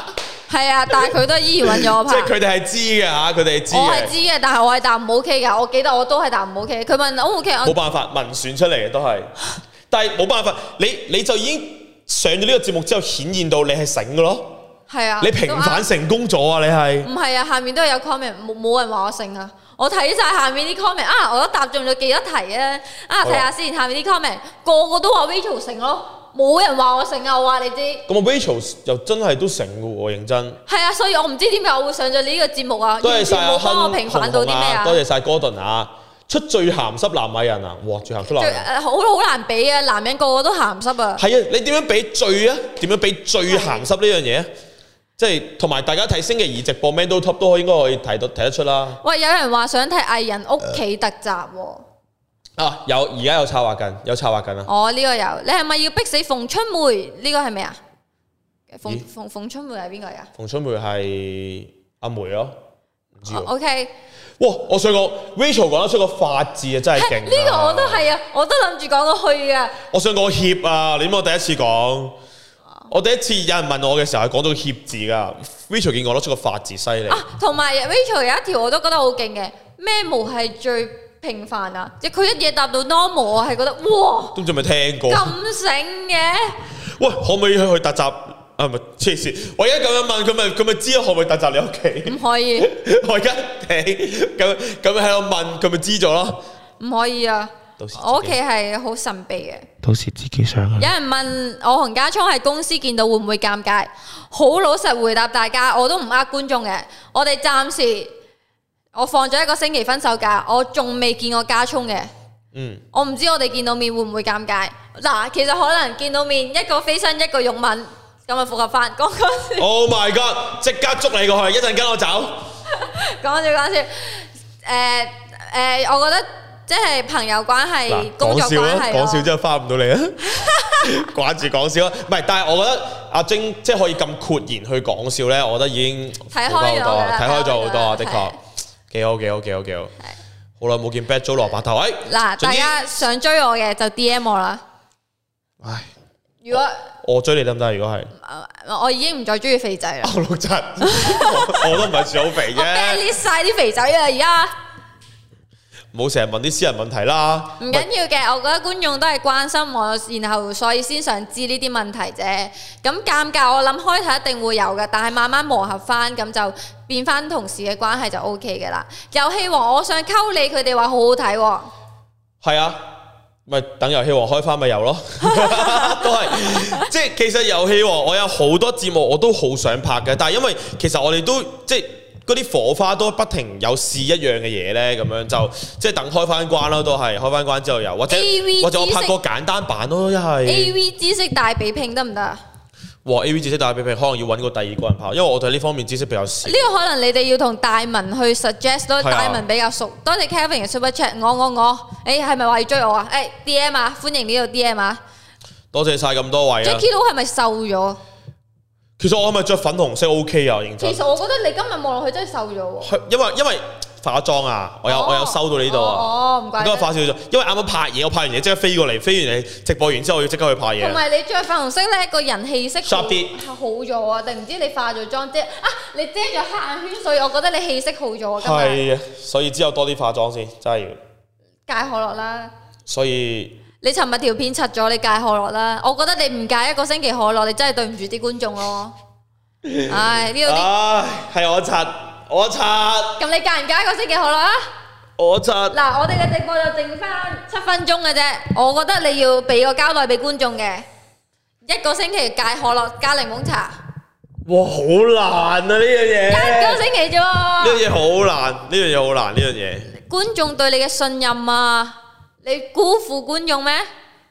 係啊，但係佢都依然揾咗我拍。 即係佢哋係知嘅嚇，佢哋係知嘅。 我係知嘅，但係我係答唔 OK 㗎。我記得我都係答唔 OK。佢問 O 唔 OK， 冇辦法，民選出嚟嘅都係。但係冇辦法，你你就已經上咗呢個節目之後，顯現到你係醒嘅咯。 係啊， 你平反成功咗啊！你係唔係啊？下面都有 comment，冇冇人話我醒啊！我睇晒下面啲 comment 啊，我都答中咗幾多題啊！啊，睇下先，下面啲 comment 個個都話 Rachel 醒咯，冇人話我醒啊！我話你知。 咁啊 ，Rachel 又真係都醒嘅喎，認真。 係啊，所以我唔知點解我會上咗呢個節目啊！ 多謝晒冇幫我平反到啲咩啊！ 多謝晒哥頓啊！出最鹹濕男藝人啊！哇，最鹹濕男藝人好好難比啊！男人個個都鹹濕啊！ 係啊，你點樣比最啊？點樣比最鹹濕呢樣嘢啊？即係同埋大家睇星期二直播 Man Do Top 都應該可以睇到睇得出啦。 喂，有人話想睇藝人屋企特集喎。 啊，有而家有策劃緊，有策劃緊啊！ 哦，呢個有，你係咪要逼死馮春梅？呢個係咩啊？馮馮馮春梅係邊個呀？ 馮春梅係阿梅咯，唔知喎。 O K。 哇！我想講 Rachel 講得出個法字啊，真係勁！ 呢個我都係啊，我都諗住講到去啊。 我想講協啊，你知我第一次講，我第一次有人問我嘅時候係講到協字噶。Rachel 見我攞出個法字犀利。啊， 同埋 Rachel 有一條我都覺得好勁嘅，咩毛係最平凡啊？即係佢一嘢答到 normal，我係覺得哇！ 都仲未聽過。 咁醒嘅。 喂，可唔可以去去特集？啊，唔係黐線！我而家咁樣問佢咪佢咪知可唔可以特集你屋企？ 唔可以。 我而家咁咁樣喺度問佢咪知咗咯？ 唔可以啊！我屋企係好神秘嘅。 到時自己上啊！ 有人問我同家聰喺公司見到會唔會尷尬？好老實回答大家，我都唔呃觀眾嘅。我哋暫時我放咗一個星期分手假，我仲未見過家聰嘅。嗯。我唔知我哋見到面會唔會尷尬？嗱，其實可能見到面一個飛身一個擁吻。咁啊，復合翻，講講笑。 Oh my god！ 即刻捉你過去，一陣跟我走。 講笑講笑，誒誒、呃呃，我覺得即係朋友關係、工作關係。講笑之後翻唔到嚟啊！掛住講笑啊，唔係，但係我覺得阿晶即係可以咁豁然去講笑咧，我覺得已經睇開咗好多， 睇開咗好多啊！的確，幾好幾好幾好幾好。好耐冇見 Bad Joe 蘿蔔頭，喂！ 嗱，大家想追我嘅就 D M 我啦。唉，如果我追你得唔得？如果係， 我已經唔再中意肥仔啦。 我六七，我都唔係算好肥啫。 我 ban 晒啲肥仔啊！而家唔好成日問啲私人問題啦。 唔緊要嘅，我覺得觀眾都係關心我，然後所以先想知呢啲問題啫。咁尷尬，我諗開頭一定會有嘅，但係慢慢磨合翻，咁就變翻同事嘅關係就 O K 嘅啦。遊戲王，我想溝你，佢哋話好好睇喎。 係啊。咪等遊戲王開翻咪有咯，都係即係其實遊戲王我有好多節目我都好想拍嘅，但係因為其實我哋都即係嗰啲火花都不停有試一樣嘅嘢咧，咁樣就即係等開翻關咯，都係開翻關之後有，或者或者我拍個簡單版咯，一係 A V 知識大比拼得唔得啊？ 哇 A V 知識大比拼可能要揾個第二個人拍，因為我對呢方面知識比較少。呢個可能你哋要同大文去 suggest 咯，大文比較熟。多謝 Kevin 嘅 super chat， 我我我，誒係咪話要追我啊？誒 D M 啊，歡迎呢度 D M 啊！ 多謝晒咁多位啊 Jackie 都係咪瘦咗？ 其實我係咪着粉紅色 OK 啊？認真。 其實我覺得你今日望落去真係瘦咗喎。 因為因為。化妝啊！我有、哦、我有收到呢度啊！ 哦，唔怪得。 應該化少咗，因為啱啱拍嘢，我拍完嘢即刻飛過嚟，飛完你直播完之後，我要即刻去拍嘢。 同埋你着粉紅色咧，個人氣色好啲， 好咗啊！定唔知你化咗妝遮啊？你遮咗黑眼圈，所以我覺得你氣色好咗啊！ 係啊，所以之後多啲化妝先，真係要。 戒可樂啦！ 所以你尋日條片柒咗，你戒可樂啦！我覺得你唔戒一個星期可樂，你真係對唔住啲觀眾咯。唉，呢度啲唉，係我柒。我刷， 咁你戒唔戒一個星期可樂啊？ 我刷。嗱， 我哋嘅直播就剩翻七分鐘嘅啫，我覺得你要俾個交代俾觀眾嘅，一個星期戒可樂加檸檬茶。 哇，好難啊呢樣嘢！ 一個星期啫喎。 呢樣嘢好難，呢樣嘢好難，呢樣嘢。 觀眾對你嘅信任啊，你辜負觀眾咩？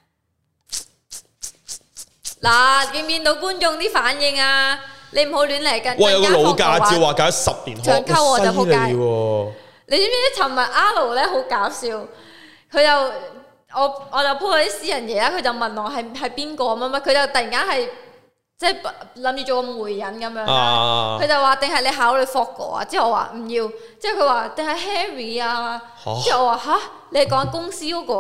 嗱，見唔見到觀眾啲反應啊？你唔好亂嚟㗎！ 哇！有個老駕照話搞十年， 長溝我就仆街。你知唔知？尋日阿盧咧好搞笑，佢就我我就 po 咗啲私人嘢啦，佢就問我係係邊個乜乜，佢就突然間係即係諗住做個媒人咁樣。佢、啊、就話定係你考慮霍哥啊？之後我話唔要，之後佢話定係 Harry 啊？之後我話吓，你係講公司嗰個啊？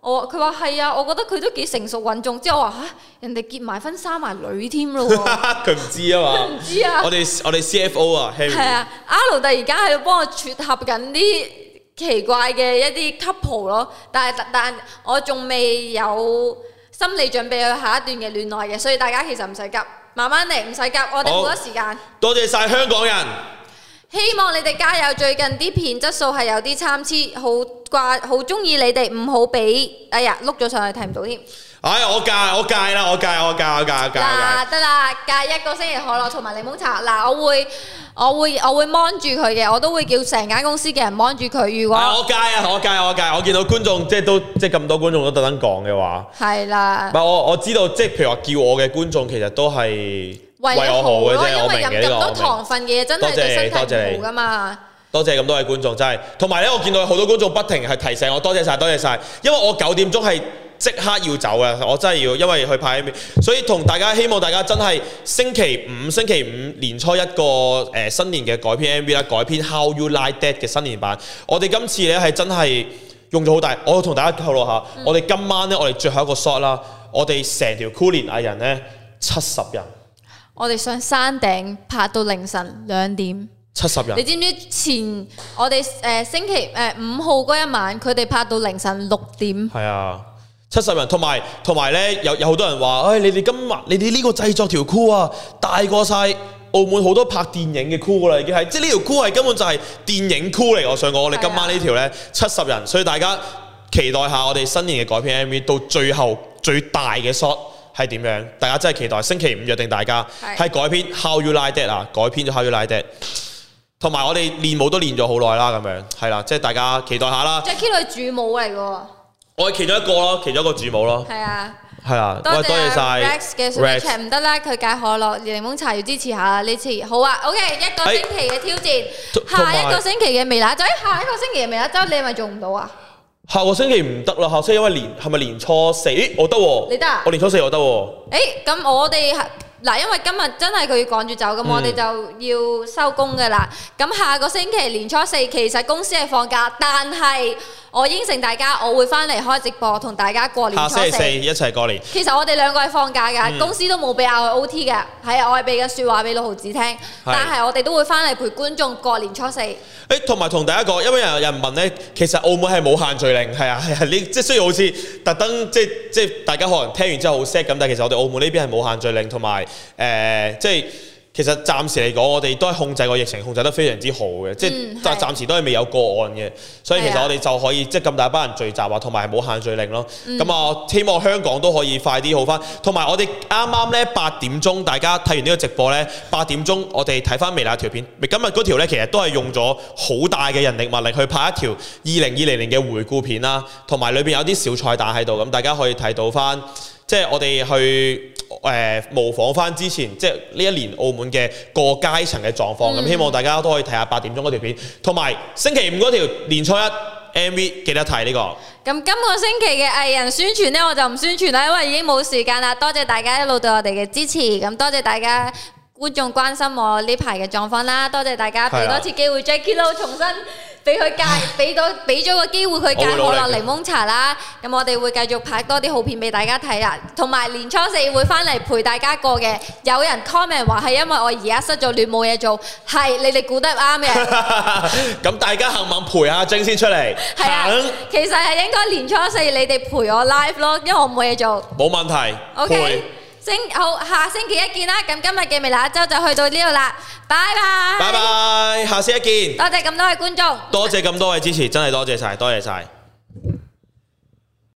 我佢話係啊，我覺得佢都幾成熟穩重。之後我話嚇，人哋結埋婚生埋女添咯喎。 佢唔知啊嘛。 唔知啊。 我哋我哋 C F O 啊 ，Harry。 係啊，阿盧突然間喺度幫我撮合緊啲奇怪嘅一啲 couple 咯，但係但我仲未有心理準備去下一段嘅戀愛嘅，所以大家其實唔使急，慢慢嚟，唔使急，我哋好多時間。 多謝晒香港人。 希望你哋加油，最近啲片質素係有啲參差，好掛，好中意你哋，唔好俾，哎呀碌咗上去睇唔到添。 哎，我戒，我戒啦，我戒，我戒，我戒，我戒。 嗱，得啦，戒一個星期可樂同埋檸檬茶。嗱，我會，我會，我會 mon 住佢嘅，我都會叫成間公司嘅人 mon 住佢。如果我戒啊，我戒，我戒，我見到觀眾即係都即係咁多觀眾都特登講嘅話， 係啦。 唔係我我知道，即係譬如話叫我嘅觀眾，其實都係為我好嘅啫，我明嘅呢個。 因為飲咁多糖分嘅嘢真係對身體唔好噶嘛。 多謝咁多位觀眾，真係。同埋咧，我見到好多觀眾不停係提醒我，多謝晒，多謝晒。因為我九點鐘係即刻要走嘅，我真係要，因為去拍 M V， 所以同大家希望大家真係星期五星期五年初一個誒、呃、新年嘅改編 M V 啦，改編 How You Like That 嘅新年版。我哋今次咧係真係用咗好大，我同大家透露下，嗯、我哋今晚咧我哋最後一個 shot 啦，我哋成條 Cool 年藝人咧七十人， 我哋上山頂拍到凌晨兩點。 七十人， 你知唔知前我哋誒、呃、星期誒五號嗰一晚，佢哋拍到凌晨六點。 係啊，七十人，同埋同埋咧，有有好多人話，誒、哎，你哋今日你哋呢個製作條 crew 啊，大過晒澳門好多拍電影嘅 crew 啦，已經係，即係呢條 crew 係根本就係電影 crew 嚟。我想講，我哋今晚呢條咧七十人，所以大家期待下我哋新年嘅改編 M V 到最後最大嘅 shot 係點樣？大家真係期待，星期五約定大家係改編 How You Like That 啊，改編咗 How You Like That。同埋我哋練舞都練咗好耐啦，咁樣係啦，即係大家期待下啦。 Jackie 女主舞嚟嘅喎， 我係其中一個咯，其中一個主舞咯。 係啊， 係啊，多謝多謝晒 Rex 嘅 Super Chat 唔得啦，佢戒可樂、檸檬茶要支持下呢次。好啊 ，OK， 一個星期嘅挑戰，下一個星期嘅微辣周，下一個星期嘅微辣周你係咪做唔到啊？ 下個星期唔得啦，下星期因為年係咪年初四？咦，我得喎， 你得啊？ 我年初四我得喎。 誒，咁我哋嗱，因為今日真係佢要趕住走，咁、嗯、我哋就要收工噶啦。咁下個星期年初四其實公司係放假，但係我應承大家，我會翻嚟開直播同大家過年初四。下星期四一齊過年。其實我哋兩個係放假㗎，嗯、公司都冇俾我 O T 嘅，係啊，我係俾緊説話俾六毫子聽。但係我哋都會翻嚟陪觀眾過年初四。誒， 同埋同大家講，因為有人問咧，其實澳門係冇限聚令，係啊係啊，你即係雖然好似特登即係即係大家可能聽完之後好 sad 咁，但係其實我哋澳門呢邊係冇限聚令，同埋誒即係。其實暫時嚟講，我哋都係控制個疫情，控制得非常之好嘅，即係暫暫時都係未有個案嘅，所以其實我哋就可以即係咁大班人聚集啊，同埋冇限聚令咯。咁啊、嗯，希望香港都可以快啲好翻。同埋我哋啱啱咧八點鐘，大家睇完呢個直播咧，八點鐘我哋睇翻微辣條片。今日嗰條咧其實都係用咗好大嘅人力物力去拍一條二零二零年嘅回顧片啦，同埋裏邊有啲小彩蛋喺度，咁大家可以睇到翻。即係我哋去誒、呃、模仿翻之前，即係呢一年澳門嘅各階層嘅狀況。咁、嗯、希望大家都可以睇下八點鐘嗰條片，同埋星期五嗰條年初一 M V 記得睇呢、呢個。咁今個星期嘅藝人宣傳呢，我就唔宣傳啦，因為已經冇時間啦。多謝大家一路對我哋嘅支持，咁多謝大家觀眾關心我呢排嘅狀況啦。多謝大家俾多次機會 Jackie Lou 重新。俾佢戒，俾到俾咗個機會佢戒可樂檸檬茶啦。咁我哋會繼續拍多啲好片俾大家睇啦。同埋年初四會翻嚟陪大家過嘅。有人 comment 話係因為我而家失咗戀冇嘢做，係你哋估得啱嘅。咁大家肯唔肯陪阿晶先出嚟？係啊，其實係應該年初四你哋陪我 live 咯，因為我冇嘢做。冇問題。OK。星好，下星期一見啦。咁今日嘅微辣一周就去到呢度啦，拜拜。拜拜，下次一見。多謝咁多位觀眾，多謝咁多位支持，真係多謝晒，多謝晒。